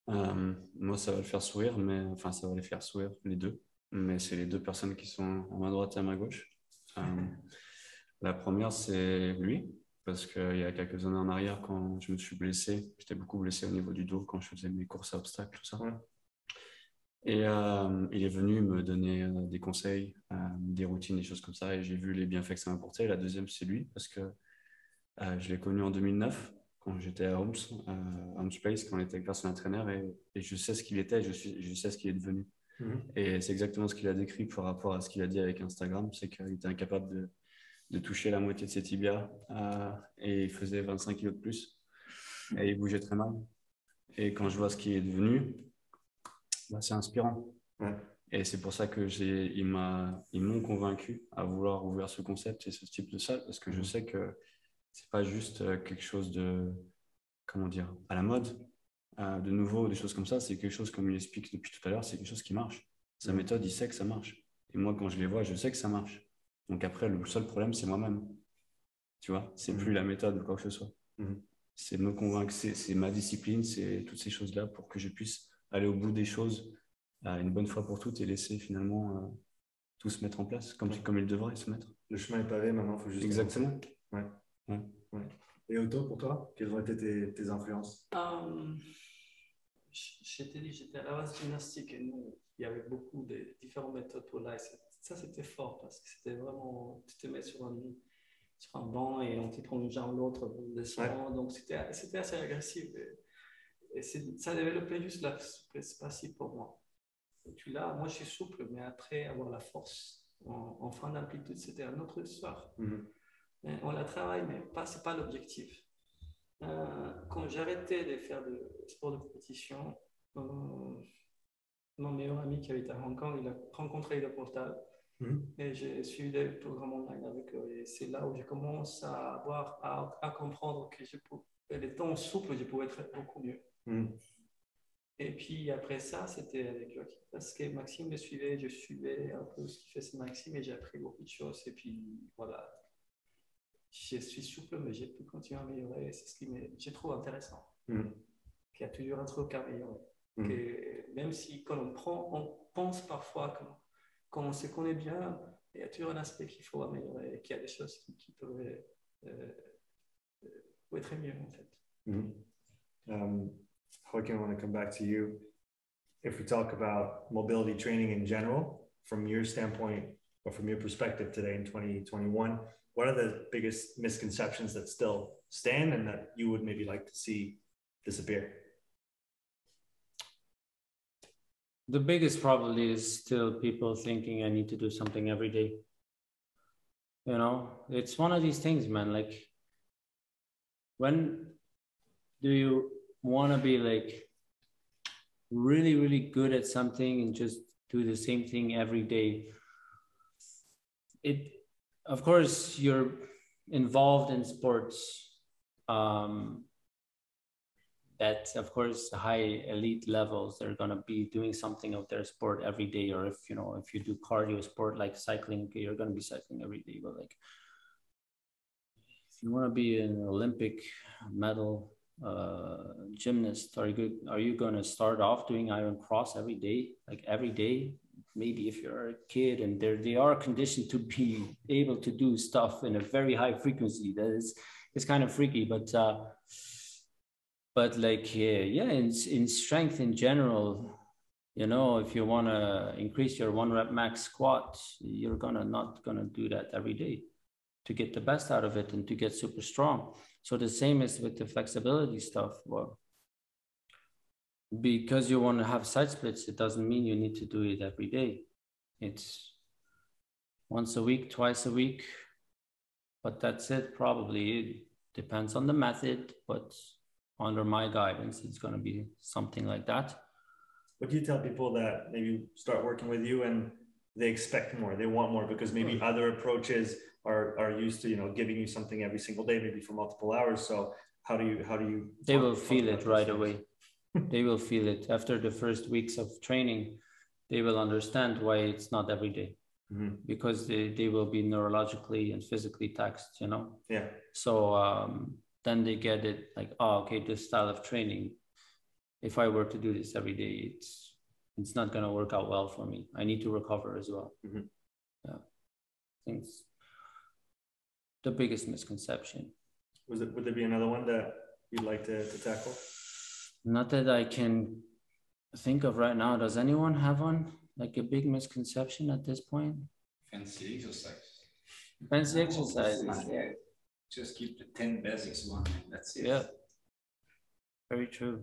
Euh, moi, ça va le faire sourire, mais enfin, ça va les faire sourire, les deux. Mais c'est les deux personnes qui sont à ma droite et à ma gauche. Euh, la première, c'est lui, parce qu'il y a quelques années en arrière, quand je me suis blessé, j'étais beaucoup blessé au niveau du dos quand je faisais mes courses à obstacles, tout ça. Ouais. Et euh, il est venu me donner euh, des conseils, euh, des routines, des choses comme ça, et j'ai vu les bienfaits que ça m'apportait. La deuxième, c'est lui, parce que euh, je l'ai connu en deux mille neuf, quand j'étais à Homs, euh, Homs Place, quand on était avec personal trainer, et, et je sais ce qu'il était, je, suis, je sais ce qu'il est devenu. Mm-hmm. Et c'est exactement ce qu'il a décrit par rapport à ce qu'il a dit avec Instagram, c'est qu'il était incapable de, de toucher la moitié de ses tibias, euh, et il faisait vingt-cinq kilos de plus, et il bougeait très mal. Et quand je vois ce qu'il est devenu, bah, c'est inspirant. Ouais. Et c'est pour ça que j'ai, il m'a, ils m'ont convaincu à vouloir ouvrir ce concept et ce type de salle, parce que je sais que c'est pas juste quelque chose de, comment dire, à la mode, euh, de nouveau, des choses comme ça. C'est quelque chose, comme il explique depuis tout à l'heure, c'est quelque chose qui marche. Sa méthode, il sait que ça marche. Et moi, quand je les vois, je sais que ça marche. Donc après, le seul problème, c'est moi-même. Tu vois, c'est mmh. plus la méthode ou quoi que ce soit. Mmh. C'est me convaincre, c'est, c'est ma discipline, c'est toutes ces choses-là pour que je puisse aller au bout des choses euh, une bonne fois pour toutes et laisser finalement euh, tout se mettre en place comme, ouais. comme il devrait se mettre. Le chemin est pavé, maintenant il faut juste... Exactement. Ouais. Ouais. Ouais. Et Otto, pour toi, quelles ont été tes, tes influences? um, Je t'ai dit, j'étais à la base gymnastique et nous, il y avait beaucoup de différentes méthodes pour là. Ça, c'était fort parce que c'était vraiment, tu te mets sur un, sur un banc et on te prend une jambe l'autre, on descend. Ouais. Donc c'était, c'était assez agressif. Et, et c'est, ça développait juste la souplesse passive pour moi. Et puis là, moi je suis souple, mais après avoir la force en, en fin d'amplitude, c'était un autre histoire. Mm-hmm. On la travaille, mais pas, c'est pas l'objectif. Euh, quand j'ai arrêté de faire de sport de compétition, euh, mon meilleur ami qui habite à Hong Kong, il a rencontré le portal mm-hmm. et j'ai suivi des programmes online avec eux. Et c'est là où je commence à avoir, à, à comprendre que je pouvais, les temps souples, je pouvais être beaucoup mieux. Mm-hmm. Et puis après ça, c'était avec Joachim, parce que Maxime me suivait, je suivais un peu ce qu'il faisait Maxime et j'ai appris beaucoup de choses. Et puis voilà. Je suis souple, mais j'ai pu continuer à améliorer. C'est ce qui me, je trouve intéressant. Mm. Qu'il y a toujours un truc à améliorer. Mm. Que même si quand on prend, on pense parfois que quand on se connaît bien, il y a toujours un aspect qu'il faut améliorer et qu'il y a des choses qui, qui peuvent euh, euh, être mieux en fait. Mm. Um, Joaquin, I want to come back to you. If we talk about mobility training in general, from your standpoint or from your perspective today in twenty twenty-one, what are the biggest misconceptions that still stand and that you would maybe like to see disappear? The biggest probably is still people thinking I need to do something every day. You know, it's one of these things, man. Like, when do you want to be like really, really good at something and just do the same thing every day? It, of course, you're involved in sports um, that, of course, high elite levels, they're going to be doing something of their sport every day. Or if, you know, if you do cardio sport like cycling, okay, you're going to be cycling every day. But like, if you want to be an Olympic medal uh, gymnast, are you good? Are you going to start off doing iron cross every day, like every day? Maybe if you're a kid and they're, they are conditioned to be able to do stuff in a very high frequency, that is, it's kind of freaky, but, uh, but like, yeah, yeah, in, in strength in general, you know, if you want to increase your one rep max squat, you're gonna not gonna do that every day to get the best out of it and to get super strong. So the same is with the flexibility stuff. Well, because you want to have side splits, it doesn't mean you need to do it every day. It's once a week, twice a week, but that's it. Probably it depends on the method, but under my guidance, it's going to be something like that. What do you tell people that maybe start working with you and they expect more, they want more because maybe other approaches are, are used to, you know, giving you something every single day, maybe for multiple hours. So how do you, how do you? They will feel it right away. They will feel it after the first weeks of training. They will understand why it's not every day, mm-hmm. because they, they will be neurologically and physically taxed, you know? Yeah. So um, then they get it like, oh, okay, this style of training, if I were to do this every day, it's it's not going to work out well for me. I need to recover as well. Mm-hmm. Yeah, I think it's the biggest misconception. Was it, would there be another one that you'd like to, to tackle? Not that I can think of right now. Does anyone have one? Like a big misconception at this point? Fancy exercise. Fancy exercise. Yeah. Just keep the ten basics one. That's it. Yeah. Very true.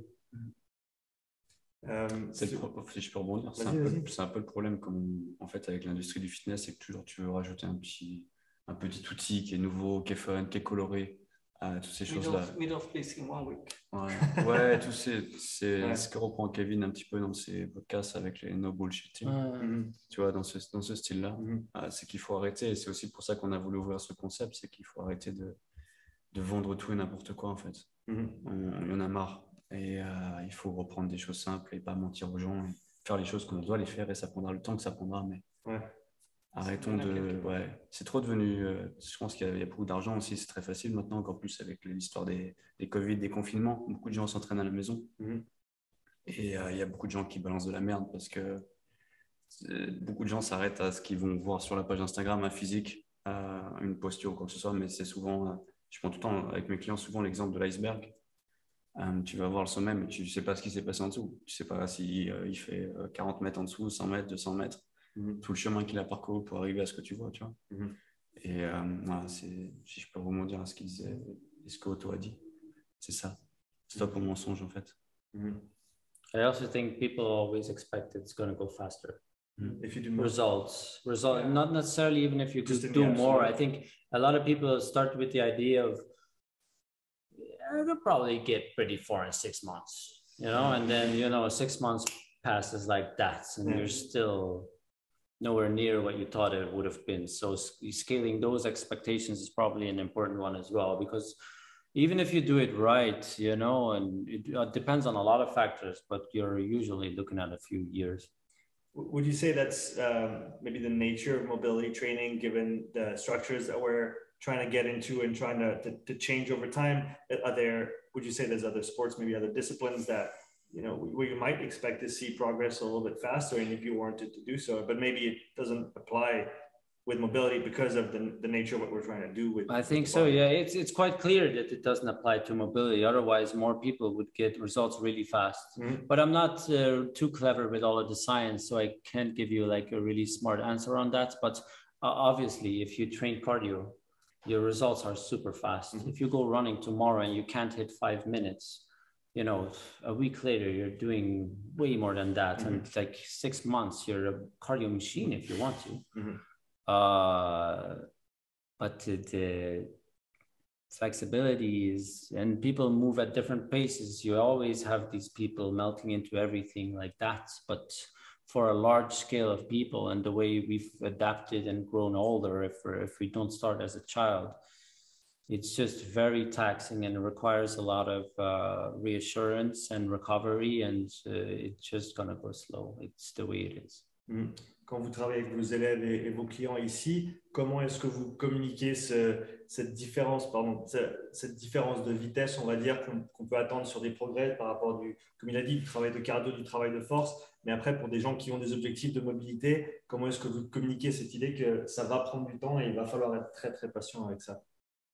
Um, c'est le pro- si je peux rebondir, c'est un, peu, c'est un peu le problème comme, en fait, avec l'industrie du fitness, c'est que toujours tu veux rajouter un petit, un petit outil qui est nouveau, qui est fun, qui est coloré, à toutes ces choses-là. Middle of place in one week. Ouais, ouais tout c'est, c'est Ouais. ce que reprend Kevin un petit peu dans ses podcasts avec les no bullshit team. Ouais. Mm-hmm. Tu vois, dans ce, dans ce style-là. Mm-hmm. Ah, c'est qu'il faut arrêter, et c'est aussi pour ça qu'on a voulu ouvrir ce concept, c'est qu'il faut arrêter de, de vendre tout et n'importe quoi, en fait. Mm-hmm. On, on en a marre. Et euh, il faut reprendre des choses simples et pas mentir aux gens et faire les choses qu'on doit les faire, et ça prendra le temps que ça prendra, mais Ouais. arrêtons de... Ouais, c'est trop devenu... Euh, je pense qu'il y a, il y a beaucoup d'argent aussi, c'est très facile maintenant, encore plus avec l'histoire des, des Covid, des confinements. Beaucoup de gens s'entraînent à la maison. Mm-hmm. Et euh, il y a beaucoup de gens qui balancent de la merde parce que euh, beaucoup de gens s'arrêtent à ce qu'ils vont voir sur la page Instagram, un physique, euh, une posture ou quoi que ce soit, mais c'est souvent... Euh, je prends tout le temps avec mes clients souvent l'exemple de l'iceberg. Um, tu vas voir le sommet, mais tu ne sais pas ce qui s'est passé en dessous. Tu ne sais pas s'il euh, il fait euh, quarante mètres en dessous, cent mètres, deux cents mètres, mm-hmm. tout le chemin qu'il a parcouru pour arriver à ce que tu vois. Tu vois. Mm-hmm. Et euh, voilà, c'est, si je peux rebondir à ce qu'il disait, et ce que Otto a dit, c'est ça. Stop au mensonge, en fait. Mm-hmm. I also think people always expect it's going to go faster. Mm-hmm. If you do more. Results, result, yeah. Not necessarily even if you could do more. I think a lot of people start with the idea of I could probably get pretty far in six months, you know, and then, you know, six months passes like that, and yeah. You're still nowhere near what you thought it would have been. So scaling those expectations is probably an important one as well, because even if you do it right, you know, and it depends on a lot of factors, but you're usually looking at a few years. Would you say that's um, maybe the nature of mobility training, given the structures that we're trying to get into and trying to, to, to change over time? Are there, would you say there's other sports, maybe other disciplines that, you know, where you might expect to see progress a little bit faster, and if you wanted to do so, but maybe it doesn't apply with mobility because of the, the nature of what we're trying to do with? I think so, yeah. It's, it's quite clear that it doesn't apply to mobility. Otherwise, more people would get results really fast. Mm-hmm. But I'm not uh, too clever with all of the science, so I can't give you like a really smart answer on that. But uh, obviously, if you train cardio, your results are super fast. Mm-hmm. If you go running tomorrow and you can't hit five minutes, you know, a week later, you're doing way more than that. Mm-hmm. And like six months, you're a cardio machine if you want to. Mm-hmm. Uh, but the, the flexibility is, and people move at different paces. You always have these people melting into everything like that. But for a large scale of people and the way we've adapted and grown older, if, if we don't start as a child, it's just very taxing and requires a lot of uh, reassurance and recovery, and uh, it's just going to go slow. It's the way it is. Mm-hmm. Quand vous travaillez avec vos élèves et, et vos clients ici, comment est-ce que vous communiquez ce, cette différence, pardon, cette différence de vitesse, on va dire, qu'on, qu'on peut attendre sur des progrès par rapport du, comme il a dit, du travail de cardio, du travail de force, mais après pour des gens qui ont des objectifs de mobilité, comment est-ce que vous communiquez cette idée que ça va prendre du temps et il va falloir être très très patient avec ça?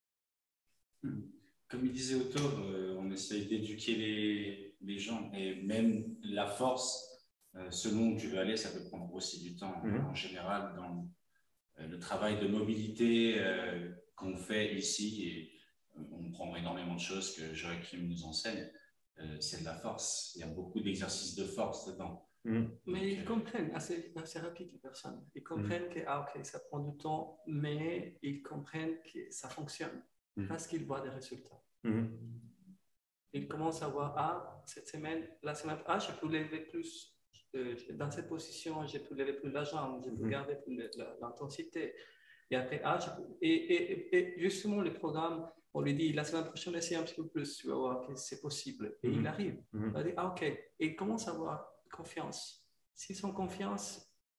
Comme il disait Otto, euh, on essaye d'éduquer les, les gens, et même la force. Euh, selon où tu veux aller, ça peut prendre aussi du temps. Mm-hmm. En général, dans euh, le travail de mobilité euh, qu'on fait ici, et euh, on prend énormément de choses que Joachim nous enseigne, euh, c'est de la force. Il y a beaucoup d'exercices de force dedans. Mm-hmm. Mais Donc, ils euh... comprennent assez, assez rapide, les personnes. Ils comprennent mm-hmm. que ah, okay, ça prend du temps, mais ils comprennent que ça fonctionne mm-hmm. parce qu'ils voient des résultats. Mm-hmm. Ils commencent à voir, ah, cette semaine, la semaine, ah, je peux lever plus. Dans cette position, j'ai pu lever plus la jambe, j'ai pu garder plus l'intensité. Et après, ah, et, et, et justement, le programme, on lui dit, la semaine prochaine, essaye un petit peu plus, tu vas voir que c'est possible. Et mm-hmm. il arrive. Mm-hmm. Il va dire, ah, ok. Et il commence à avoir confiance. S'ils ont confiance,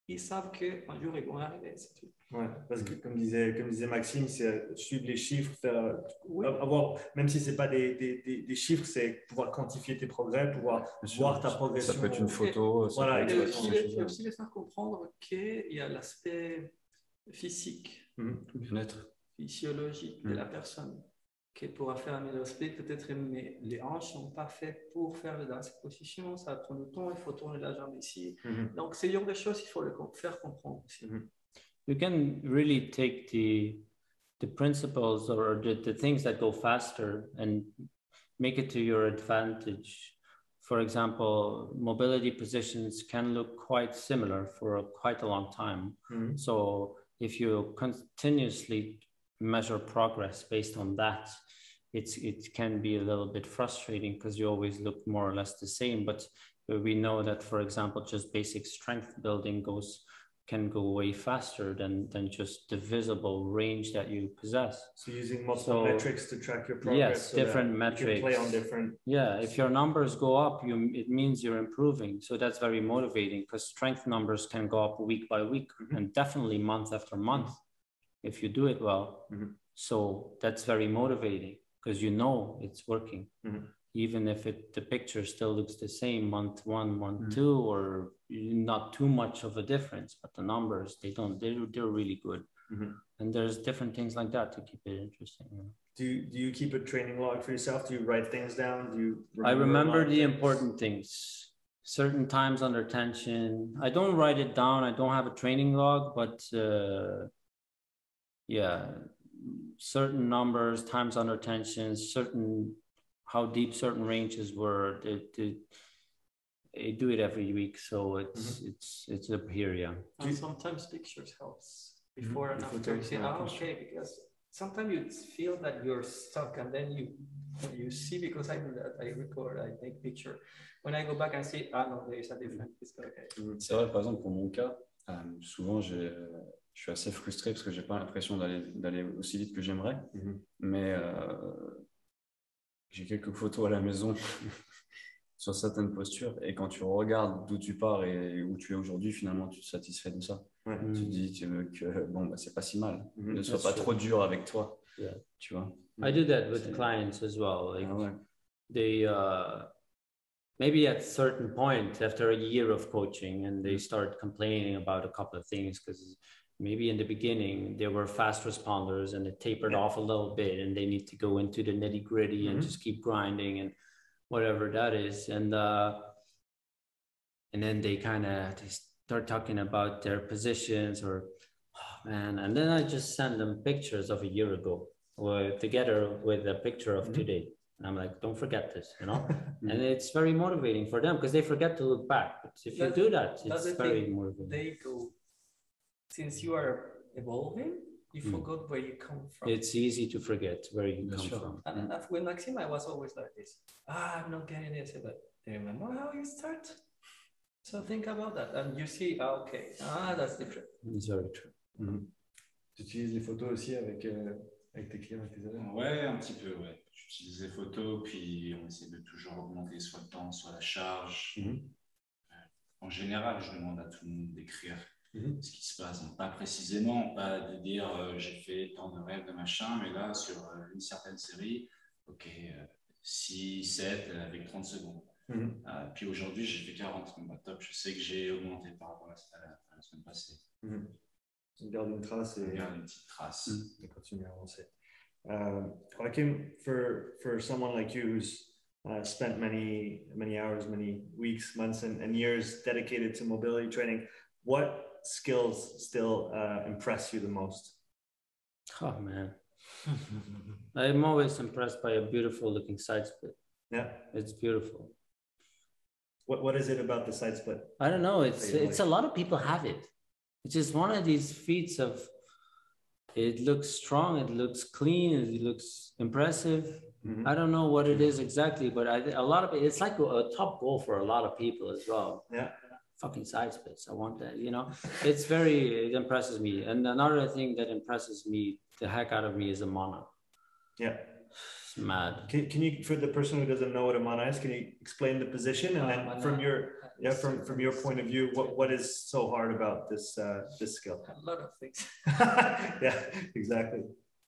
ils savent qu'un jour, ils vont arriver, c'est tout. Ouais, parce que comme disait, comme disait Maxime, c'est suivre les chiffres, faire, Oui. avoir, même si ce n'est pas des, des, des, des chiffres, c'est pouvoir quantifier tes progrès, pouvoir voir ta progression. Ça peut être une photo. Et, voilà, et aussi, les, aussi les faire comprendre qu'il y a l'aspect physique, mmh. bien-être, physiologique mmh. de la personne qui pourra faire un middle split, peut-être, mais les hanches ne sont pas faites pour faire dans cette position, ça prend du temps, il faut tourner la jambe ici. Mm-hmm. Donc, c'est genre de choses qu'il faut le faire comprendre aussi. Mm-hmm. You can really take the, the principles or the, the things that go faster and make it to your advantage. For example, mobility positions can look quite similar for a, quite a long time. Mm-hmm. So if you continuously measure progress based on that, it's it can be a little bit frustrating because you always look more or less the same. But we know that, for example, just basic strength building goes can go way faster than than just the visible range that you possess. So using multiple so, metrics to track your progress. Yes, so different metrics. You can play on different. Yeah, if your numbers go up, you it means you're improving. So that's very motivating because strength numbers can go up week by week mm-hmm. and definitely month after month mm-hmm. if you do it well. Mm-hmm. So that's very motivating because you know it's working. Mm-hmm. Even if it the picture still looks the same month one, month mm-hmm. two, or not too much of a difference, but the numbers, they don't, they're, they're really good. Mm-hmm. And there's different things like that to keep it interesting. You know? Do you, do you keep a training log for yourself? Do you write things down? Do you remember I remember the things? important things, certain times under tension. I don't write it down. I don't have a training log, but uh, yeah, certain numbers, times under tension, certain how deep certain ranges were. They, they, they do it every week, so it's mm-hmm. it's it's up here, yeah. And sometimes pictures helps before mm-hmm. and after. You say, oh, okay, because sometimes you feel that you're stuck, and then you you see, because I do that, I record, I take picture. When I go back and see, ah no, there is a different. It's okay. Mm-hmm. C'est vrai, par exemple, pour mon cas, euh, souvent j'ai je suis assez frustré parce que j'ai pas l'impression d'aller d'aller aussi vite que j'aimerais, mm-hmm. mais euh, j'ai quelques photos à la maison sur certaines postures, et quand tu regardes d'où tu pars et où tu es aujourd'hui, finalement tu te satisfais de ça. Ouais. Tu te dis que bon, bah, c'est pas si mal. Mm-hmm. Ne sois That's pas true. Trop dur avec toi. Yeah. Tu vois. I do that with clients as well. Like ah, ouais. They uh, maybe at a certain point after a year of coaching, and they start complaining about a couple of things because maybe in the beginning they were fast responders and it tapered yeah. off a little bit, and they need to go into the nitty gritty mm-hmm. and just keep grinding and whatever that is. And uh, and then they kind of they start talking about their positions or, oh, man. And then I just send them pictures of a year ago or together with a picture of mm-hmm. today. And I'm like, don't forget this, you know? Mm-hmm. And it's very motivating for them because they forget to look back. But if you that's, do that, it's very motivating. They go, since you are evolving, you mm. forgot where you come from. It's easy to forget where you That's come sure. from. And mm. with Maxime, I was always like this. Ah, I'm not getting this. But do you remember how you start? So think about that. And you see, ah, okay, ah, that's different. It's very true. Mm-hmm. Tu utilises les photos aussi avec, euh, avec tes clients, avec tes élèves? Ouais, un petit peu, ouais. J'utilise les photos, puis on essaie de toujours augmenter soit le temps, soit la charge. Mm-hmm. euh, en général, je demande à tout le monde d'écrire Mmh. ce qui se passe, donc pas précisément, pas de dire euh, j'ai fait tant de rêves de machin, mais là sur euh, une certaine série, ok, euh, six, sept avec trente secondes. Mmh. Euh, puis aujourd'hui j'ai fait quarante, donc bah, top, je sais que j'ai augmenté par rapport à la, à la semaine passée. Mmh. On garde une trace et on garde une petite trace. Mmh. Et continue à avancer. Uh, Joachim, for, for someone like you who's uh, spent many, many hours, many weeks, months, and, and years dedicated to mobility training, what skills still uh, impress you the most? Oh man, I'm always impressed by a beautiful looking side split. Yeah, it's beautiful. What what is it about the side split? I don't know. It's it's like? A lot of people have it. It's just one of these feats of. It looks strong. It looks clean. It looks impressive. Mm-hmm. I don't know what it is exactly, but I, a lot of it. It's like a, a top goal for a lot of people as well. Yeah. Fucking side splits. I want that, you know. It's very, it impresses me. And another thing that impresses me, the heck out of me, is a mono. Yeah. It's mad. Can, can you, for the person who doesn't know what a mana is, can you explain the position? And then from your, yeah, from, from your point of view, what, what is so hard about this, uh, this skill? A lot of things. Yeah, exactly.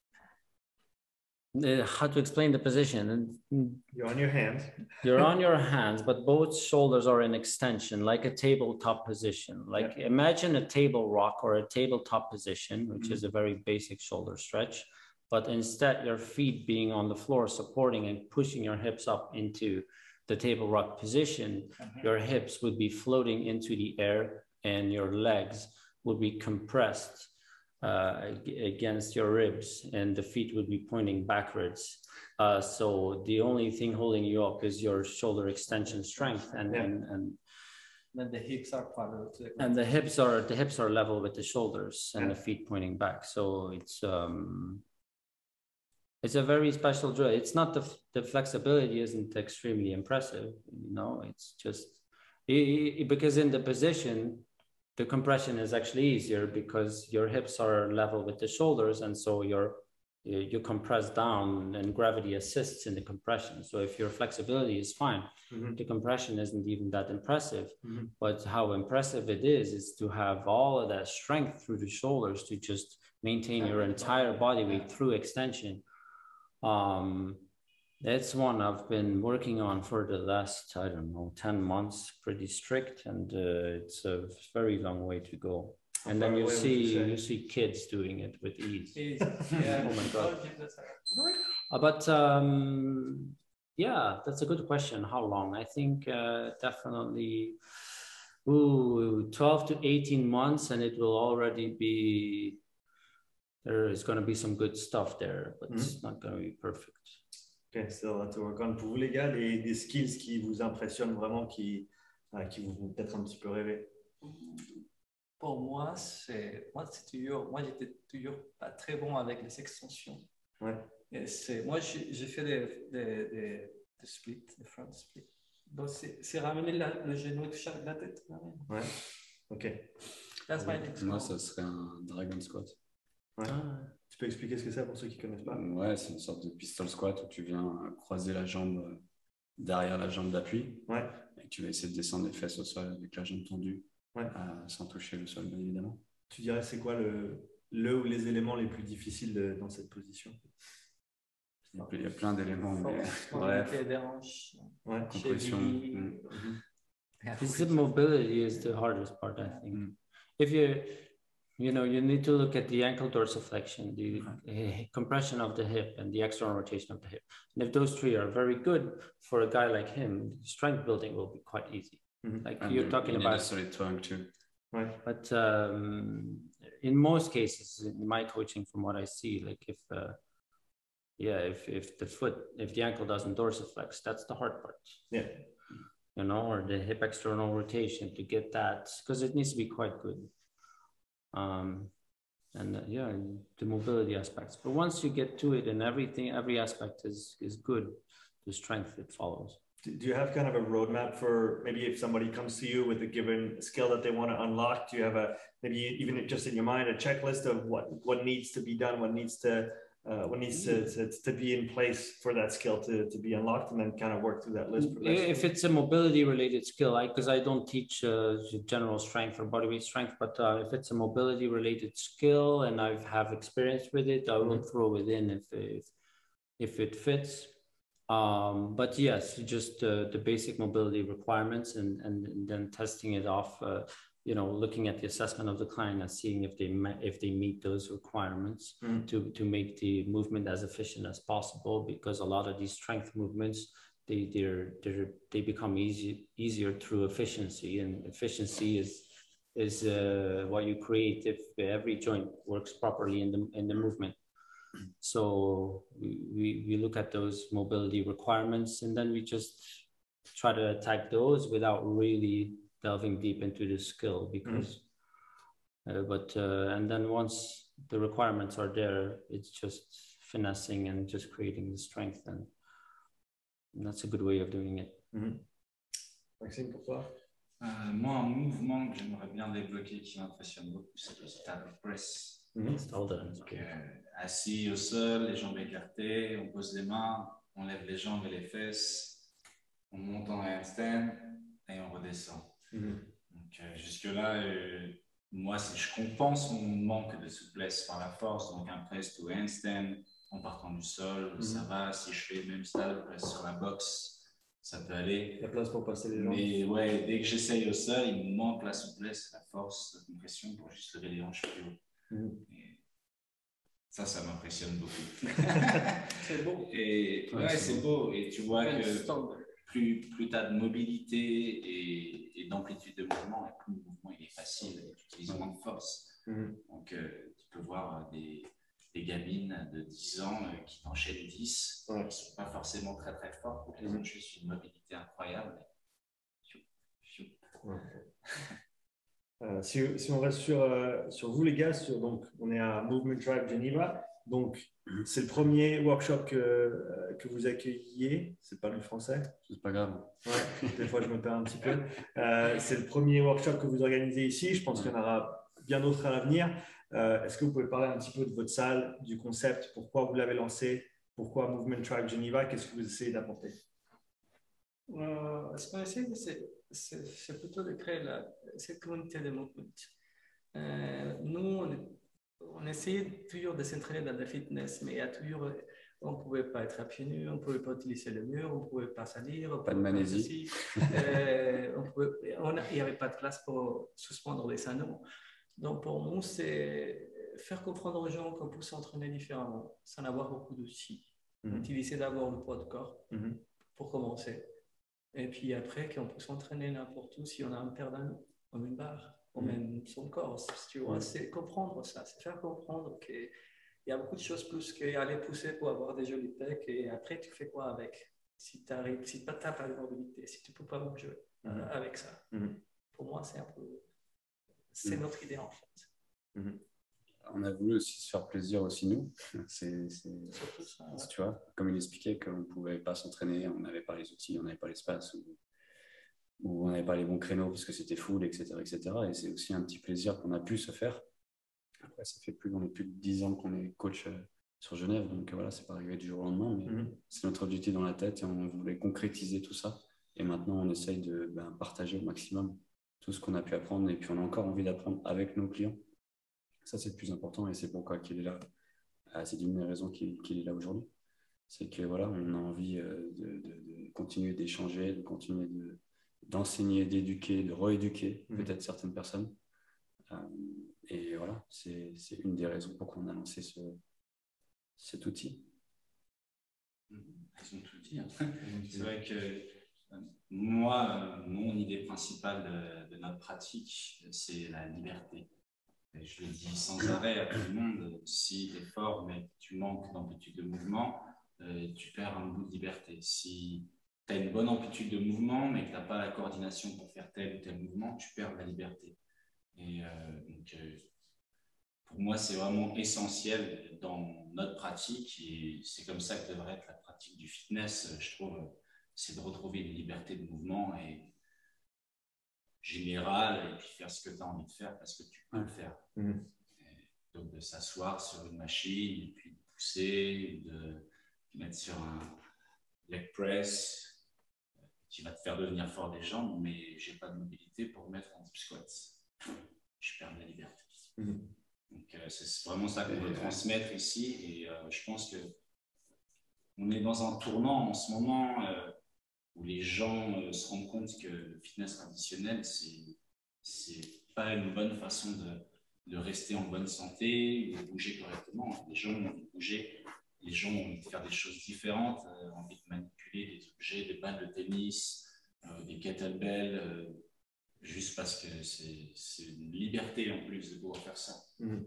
Uh, how to explain the position? You're on your hands. You're on your hands, but both shoulders are in extension, like a tabletop position. Like yeah. Imagine a table rock or a tabletop position, which mm-hmm. is a very basic shoulder stretch. But instead, your feet being on the floor, supporting and pushing your hips up into the table rock position, mm-hmm. your hips would be floating into the air and your legs would be compressed uh, against your ribs, and the feet would be pointing backwards. Uh, so the only thing holding you up is your shoulder extension strength, and yeah. and, and then the hips are parallel to the and the hips are the hips are level with the shoulders, and yeah. the feet pointing back. So it's um. It's a very special drill. It's not the, the flexibility isn't extremely impressive, you know, it's just it, it, because in the position, the compression is actually easier because your hips are level with the shoulders. And so you're, you, you compress down and gravity assists in the compression. So if your flexibility is fine, mm-hmm. the compression isn't even that impressive. Mm-hmm. But how impressive it is, is to have all of that strength through the shoulders to just maintain your entire body weight through extension. Um, that's one I've been working on for the last, I don't know, ten months, pretty strict. And uh, it's a very long way to go. And then you see, you see kids doing it with ease. Yeah. Oh my God. Uh, but um, yeah, that's a good question. How long? I think uh, definitely ooh, twelve to eighteen months, and it will already be, there is going to be some good stuff there, but mm-hmm. it's not going to be perfect. Okay, still a lot to work on. Pour vous les gars, des, des skills qui vous impressionnent vraiment, qui, euh, qui vous font peut-être un petit peu rêver. Pour moi, c'est moi c'est toujours moi j'étais toujours pas très bon avec les extensions. Ouais. Et c'est moi j'ai, j'ai fait des des, des des splits, des front splits. Donc c'est, c'est ramener la, le genou de chaque la tête. Ouais. Ok. That's my next Moi, ça serait un dragon squat. Ouais. Ah. Tu peux expliquer ce que c'est pour ceux qui ne connaissent pas? Ouais, c'est une sorte de pistol squat où tu viens croiser la jambe derrière la jambe d'appui. Ouais. Et tu vas essayer de descendre les fesses au sol avec la jambe tendue, ouais. euh, sans toucher le sol, bien évidemment. Tu dirais c'est quoi le, le ou les éléments les plus difficiles de, dans cette position? Il y a, il y a plein d'éléments. Mais... Bref. Des hanches. Ouais. Compression. Mm. Mm-hmm. Mobility is the hardest part, I think. Mm. If you You know, you need to look at the ankle dorsiflexion, the uh, compression of the hip, and the external rotation of the hip. And if those three are very good for a guy like him, strength building will be quite easy. Mm-hmm. Like and you're talking you about. Need a solid tongue too. Right. But um, in most cases, in my coaching, from what I see, like if, uh, yeah, if if the foot, if the ankle doesn't dorsiflex, that's the hard part. Yeah. You know, or the hip external rotation to get that, because it needs to be quite good. Um, and uh, yeah, the mobility aspects. But once you get to it and everything, every aspect is, is good, the strength it follows. Do you have kind of a roadmap for maybe if somebody comes to you with a given skill that they want to unlock? Do you have a, maybe even just in your mind, a checklist of what, what needs to be done, what needs to, uh, what needs to, to, to be in place for that skill to, to be unlocked, and then kind of work through that list? If it's a mobility related skill, because I, I don't teach uh, general strength or bodyweight strength, but uh, if it's a mobility related skill and I have experience with it, I will mm-hmm. throw it in if, if, if it fits. Um, but yes, just uh, the basic mobility requirements, and, and, and then testing it off, uh, you know, looking at the assessment of the client and seeing if they if they meet those requirements mm. to, to make the movement as efficient as possible, because a lot of these strength movements, they they're, they're they become easy easier through efficiency, and efficiency is is uh, what you create if every joint works properly in the in the movement. So we, we, we look at those mobility requirements, and then we just try to attack those without really delving deep into the skill, because mm. uh, but uh, and then once the requirements are there, it's just finessing and just creating the strength, and, and that's a good way of doing it. Mm-hmm. Maxime, pour toi? Euh, moi, un mouvement que j'aimerais bien débloquer qui m'impressionne beaucoup, c'est le table press. Mhm. Donc, euh, assis au sol, les jambes écartées, on pose les mains, on lève les jambes et les fesses, on monte en handstand et on redescend. Mhm. Donc euh, jusque-là, euh, moi, si je compense mon manque de souplesse par la force, donc un press to handstand en partant du sol, mm-hmm. ça va. Si je fais le même style press sur la boxe, ça peut aller. Il y a place pour passer les jambes. Mais ouais, dès que j'essaye au sol, il me manque la souplesse, la force, la compression pour juste lever les hanches plus haut. Mm-hmm. Et ça, ça m'impressionne beaucoup. C'est beau. Et ouais, ouais c'est beau. beau. Et tu vois que plus, plus tu as de mobilité et, et d'amplitude de mouvement, et plus le mouvement il est facile, et tu utilises moins de force. Mm-hmm. Donc, euh, tu peux voir des, des gamines de dix ans euh, qui t'enchaînent dix, ouais. Qui ne sont pas forcément très très fortes, mais mm-hmm. Ils ont juste une mobilité incroyable. Ouais. euh, si, si on reste sur, euh, sur vous, les gars, sur, donc, on est à Movement Tribe Geneva. Donc, c'est le premier workshop que, que vous accueilliez. C'est pas le français? C'est pas grave. Ouais, des fois je me perds un petit peu. Euh, c'est le premier workshop que vous organisez ici. Je pense qu'il y en aura bien d'autres à l'avenir. Euh, est-ce que vous pouvez parler un petit peu de votre salle, du concept, pourquoi vous l'avez lancé, pourquoi Movement Tribe Geneva, qu'est-ce que vous essayez d'apporter? euh, Ce qu'on essaie, c'est, c'est, c'est plutôt de créer la, cette communauté de movement. Euh, nous, on est On essayait toujours de s'entraîner dans la fitness, mais il y a toujours, on ne pouvait pas être à pieds nus, on ne pouvait pas utiliser le mur, on ne pouvait pas salir. Pas de manésie. euh, on pouvait, on a, il n'y avait pas de place pour suspendre les anneaux. Donc pour nous, c'est faire comprendre aux gens qu'on peut s'entraîner différemment, sans avoir beaucoup d'outils. Mm-hmm. Utiliser d'abord le poids de corps mm-hmm. pour commencer. Et puis après, qu'on peut s'entraîner n'importe où si on a un paire d'anneaux, comme une barre. Ou même son corps, tu vois, c'est comprendre ça, c'est faire comprendre qu'il y a beaucoup de choses plus qu'aller pousser pour avoir des jolis pecs et après tu fais quoi avec? Si tu n'as si pas de mobilité, si tu ne peux pas bouger mm-hmm. euh, avec ça. Mm-hmm. Pour moi, c'est un peu, c'est mm-hmm. notre idée en fait. Mm-hmm. On a voulu aussi se faire plaisir aussi nous, c'est, c'est, c'est ça, ouais. Tu vois, comme il expliquait qu'on ne pouvait pas s'entraîner, on n'avait pas les outils, on n'avait pas l'espace. Ou... où on n'avait pas les bons créneaux parce que c'était full, et cetera, et cetera. Et c'est aussi un petit plaisir qu'on a pu se faire. Après, ça fait plus, on est plus de dix ans qu'on est coach euh, sur Genève, donc voilà, c'est pas arrivé du jour au lendemain, mais mm-hmm. c'est notre objectif dans la tête et on voulait concrétiser tout ça. Et maintenant, on essaye de ben, partager au maximum tout ce qu'on a pu apprendre et puis on a encore envie d'apprendre avec nos clients. Ça, c'est le plus important et c'est pourquoi qu'il est là. Ah, c'est une des raisons qu'il, qu'il est là aujourd'hui. C'est que voilà, on a envie euh, de, de, de continuer d'échanger, de continuer de d'enseigner, d'éduquer, de rééduquer mmh. peut-être certaines personnes. Euh, et voilà, c'est, c'est une des raisons pour qu'on a lancé ce, cet outil. Ils ont tout dit. Hein. C'est vrai que euh, moi, euh, mon idée principale de, de notre pratique, c'est la liberté. Et je le dis sans arrêt à tout le monde, si tu es fort mais tu manques d'amplitude de mouvement, euh, tu perds un bout de liberté. Si tu as une bonne amplitude de mouvement, mais que tu n'as pas la coordination pour faire tel ou tel mouvement, tu perds la liberté. Et euh, donc, euh, pour moi, c'est vraiment essentiel dans notre pratique, et c'est comme ça que devrait être la pratique du fitness, je trouve, c'est de retrouver une liberté de mouvement et générale, et puis faire ce que tu as envie de faire parce que tu peux le faire. Mmh. Donc, de s'asseoir sur une machine, et puis de pousser, de mettre sur un leg press, qui va te faire devenir fort des jambes, mais j'ai pas de mobilité pour mettre en deep squats. Je perds la liberté. Mm-hmm. Donc euh, c'est vraiment ça qu'on veut transmettre ici, et euh, je pense que on est dans un tournant en ce moment euh, où les gens euh, se rendent compte que le fitness traditionnel, c'est c'est pas une bonne façon de, de rester en bonne santé ou de bouger correctement. Les gens ont envie de bouger, les gens ont envie de faire des choses différentes, euh, envie de manipuler des objets, des balles de tennis, euh, des kettlebells, euh, juste parce que c'est, c'est une liberté en plus de pouvoir faire ça. Mmh.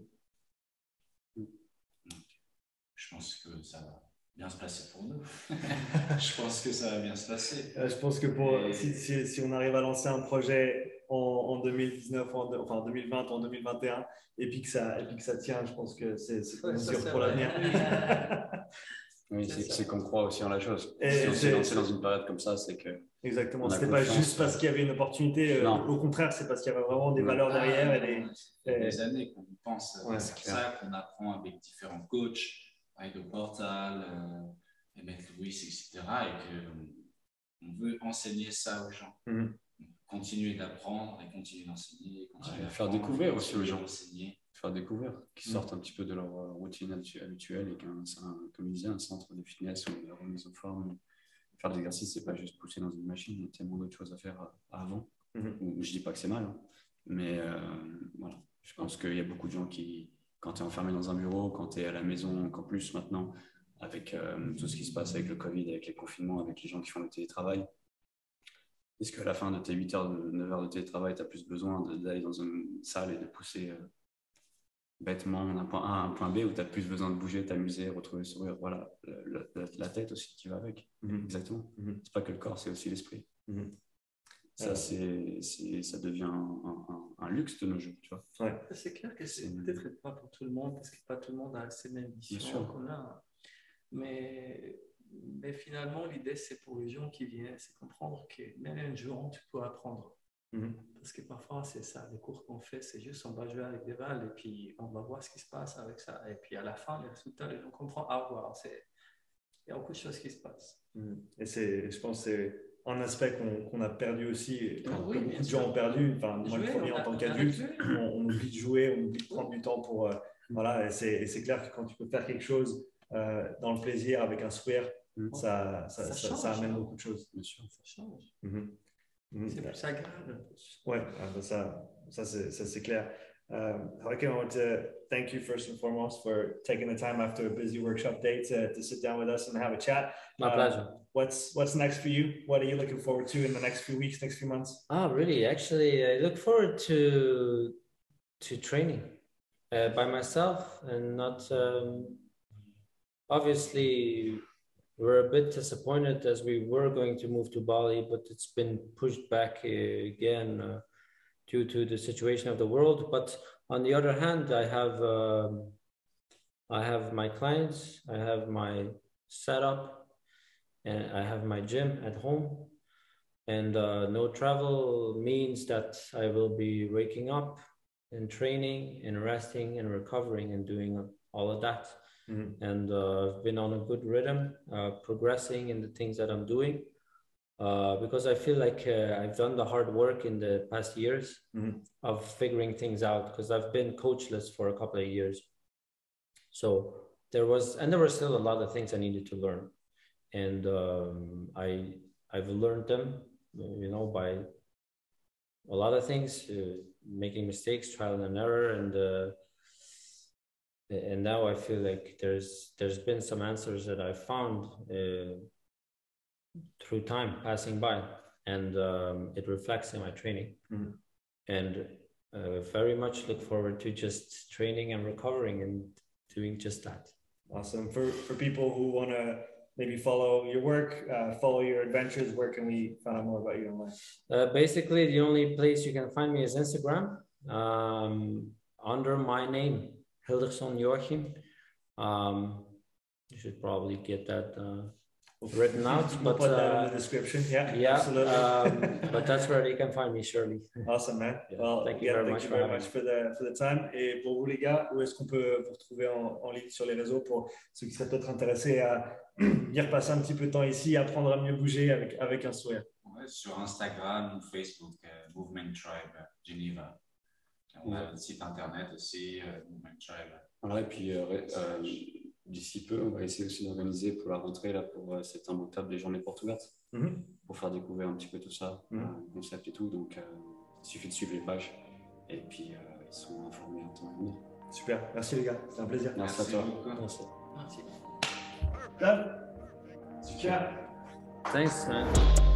Donc, je pense que ça va bien se passer pour nous. Je pense que ça va bien se passer. Euh, je pense que pour, Et... si, si, si on arrive à lancer un projet en, en deux mille dix-neuf, en, enfin en deux mille vingt, en deux mille vingt et un, et puis que ça, et puis que ça tient, je pense que c'est, c'est ouais, sûr pour l'avenir. Oui, c'est qu'on croit aussi en la chose. Et si on s'est lancé dans une période comme ça, c'est que. Exactement, c'était pas juste parce qu'il y avait une opportunité, euh, au contraire, c'est parce qu'il y avait vraiment des valeurs derrière. Et des, ça fait des années qu'on pense, ouais, c'est pour ça qu'on apprend avec différents coachs, avec le Portal, euh, Emmett Lewis, et cetera. Et qu'on veut enseigner ça aux gens. Mm-hmm. Continuer d'apprendre et continuer d'enseigner. Ouais, faire découvrir aussi aux gens. Enseigner. Faire découvrir, qu'ils sortent mm-hmm. un petit peu de leur routine habituelle et qu'un, comme il disait, un centre de fitness ou de remise en forme. Faire de l'exercice, c'est pas juste pousser dans une machine, il y a tellement d'autres choses à faire avant. Mm-hmm. Je dis pas que c'est mal, hein. Mais euh, voilà, je pense qu'il y a beaucoup de gens qui, quand tu es enfermé dans un bureau, quand tu es à la maison, encore plus maintenant, avec euh, tout ce qui se passe avec le Covid, avec les confinements, avec les gens qui font le télétravail, est-ce qu'à la fin de tes huit heures, neuf heures de télétravail, tu as plus besoin d'aller dans une salle et de pousser euh, bêtement d'un point A à un point B, où tu as plus besoin de bouger, t'amuser, retrouver le sourire, voilà, le, le, la tête aussi qui va avec. Mm-hmm. Exactement. Mm-hmm. C'est pas que le corps, c'est aussi l'esprit. Mm-hmm. Ça, c'est, c'est, ça devient un, un, un luxe de nos jours, tu vois. Ouais. C'est clair que c'est, c'est peut-être pas pour tout le monde, parce que pas tout le monde a ces mêmes visions qu'on a. Mais, mais finalement, l'idée, c'est pour les gens qui viennent, c'est comprendre que même un jour, tu peux apprendre. Mm-hmm. Parce que parfois, c'est ça, les cours qu'on fait, c'est juste on va jouer avec des balles et puis on va voir ce qui se passe avec ça. Et puis à la fin, les résultats, les gens comprennent, ah, wow, c'est... il y a beaucoup de choses qui se passent. Mm-hmm. Et c'est, je pense que c'est un aspect qu'on, qu'on a perdu aussi, ah, que oui, beaucoup de gens ont perdu. Enfin, moi, jouer, le premier en tant qu'adulte, on, on oublie de jouer, on oublie de prendre du temps pour. Euh, mm-hmm. Voilà, et c'est, et c'est clair que quand tu peux faire quelque chose euh, dans le plaisir, avec un sourire, mm-hmm. ça, ça, ça, ça, change, ça amène beaucoup de choses. Bien sûr, ça change. Mm-hmm. Mm-hmm. C'est plus agréable. Ouais, ça, ça, c'est, ça c'est clair. Um, okay, I want to thank you first and foremost for taking the time after a busy workshop day to, to sit down with us and have a chat. My um, pleasure. What's what's next for you? What are you looking forward to in the next few weeks, next few months? Ah, really? Actually, I look forward to to training uh, by myself and not. Um, obviously, we're a bit disappointed as we were going to move to Bali, but it's been pushed back uh, again. Uh, due to the situation of the world. But on the other hand, I have um, I have my clients, I have my setup, and I have my gym at home. And uh, no travel means that I will be waking up and training and resting and recovering and doing all of that. Mm-hmm. And uh, I've been on a good rhythm, uh, progressing in the things that I'm doing. Uh, because I feel like uh, I've done the hard work in the past years mm-hmm. of figuring things out, because I've been coachless for a couple of years. So there was, and there were still a lot of things I needed to learn. And um, I, I've learned them, you know, by a lot of things, uh, making mistakes, trial and error. And, uh, and now I feel like there's, there's been some answers that I found uh, through time passing by, and um, it reflects in my training. Mm-hmm. And uh, very much look forward to just training and recovering and doing just that. Awesome. For for people who want to maybe follow your work, uh, follow your adventures, where can we find out more about you online? Uh, basically, the only place you can find me is Instagram, um, under my name, Hilderson Joachim. Um, you should probably get that uh, written out, we'll but put that uh, in the description. Yeah, yeah, absolutely. um, but that's where you can find me, surely. Awesome, man. Yeah. Well, thank you again, very thank much, you for, very much for the for the time. Et pour vous les gars, où est-ce qu'on peut vous retrouver en, en ligne sur les réseaux pour ceux qui seraient peut-être intéressés à y repasser un petit peu de temps ici, apprendre à mieux bouger avec avec un sourire? Ouais, sur Instagram ou Facebook, euh, Movement Tribe Geneva. On a le site internet aussi, euh, Movement Tribe. Voilà, et puis euh, euh, d'ici peu, on va essayer aussi d'organiser pour la rentrée, là, pour euh, cette imbattable des journées portes ouvertes, mm-hmm. pour faire découvrir un petit peu tout ça, mm-hmm. euh, le concept et tout. Donc, euh, il suffit de suivre les pages et puis euh, ils sont informés en temps et en heure. Super, merci les gars, c'était un plaisir. Merci, merci à toi. Beaucoup. Merci. Merci. Done. Super. Thanks, man.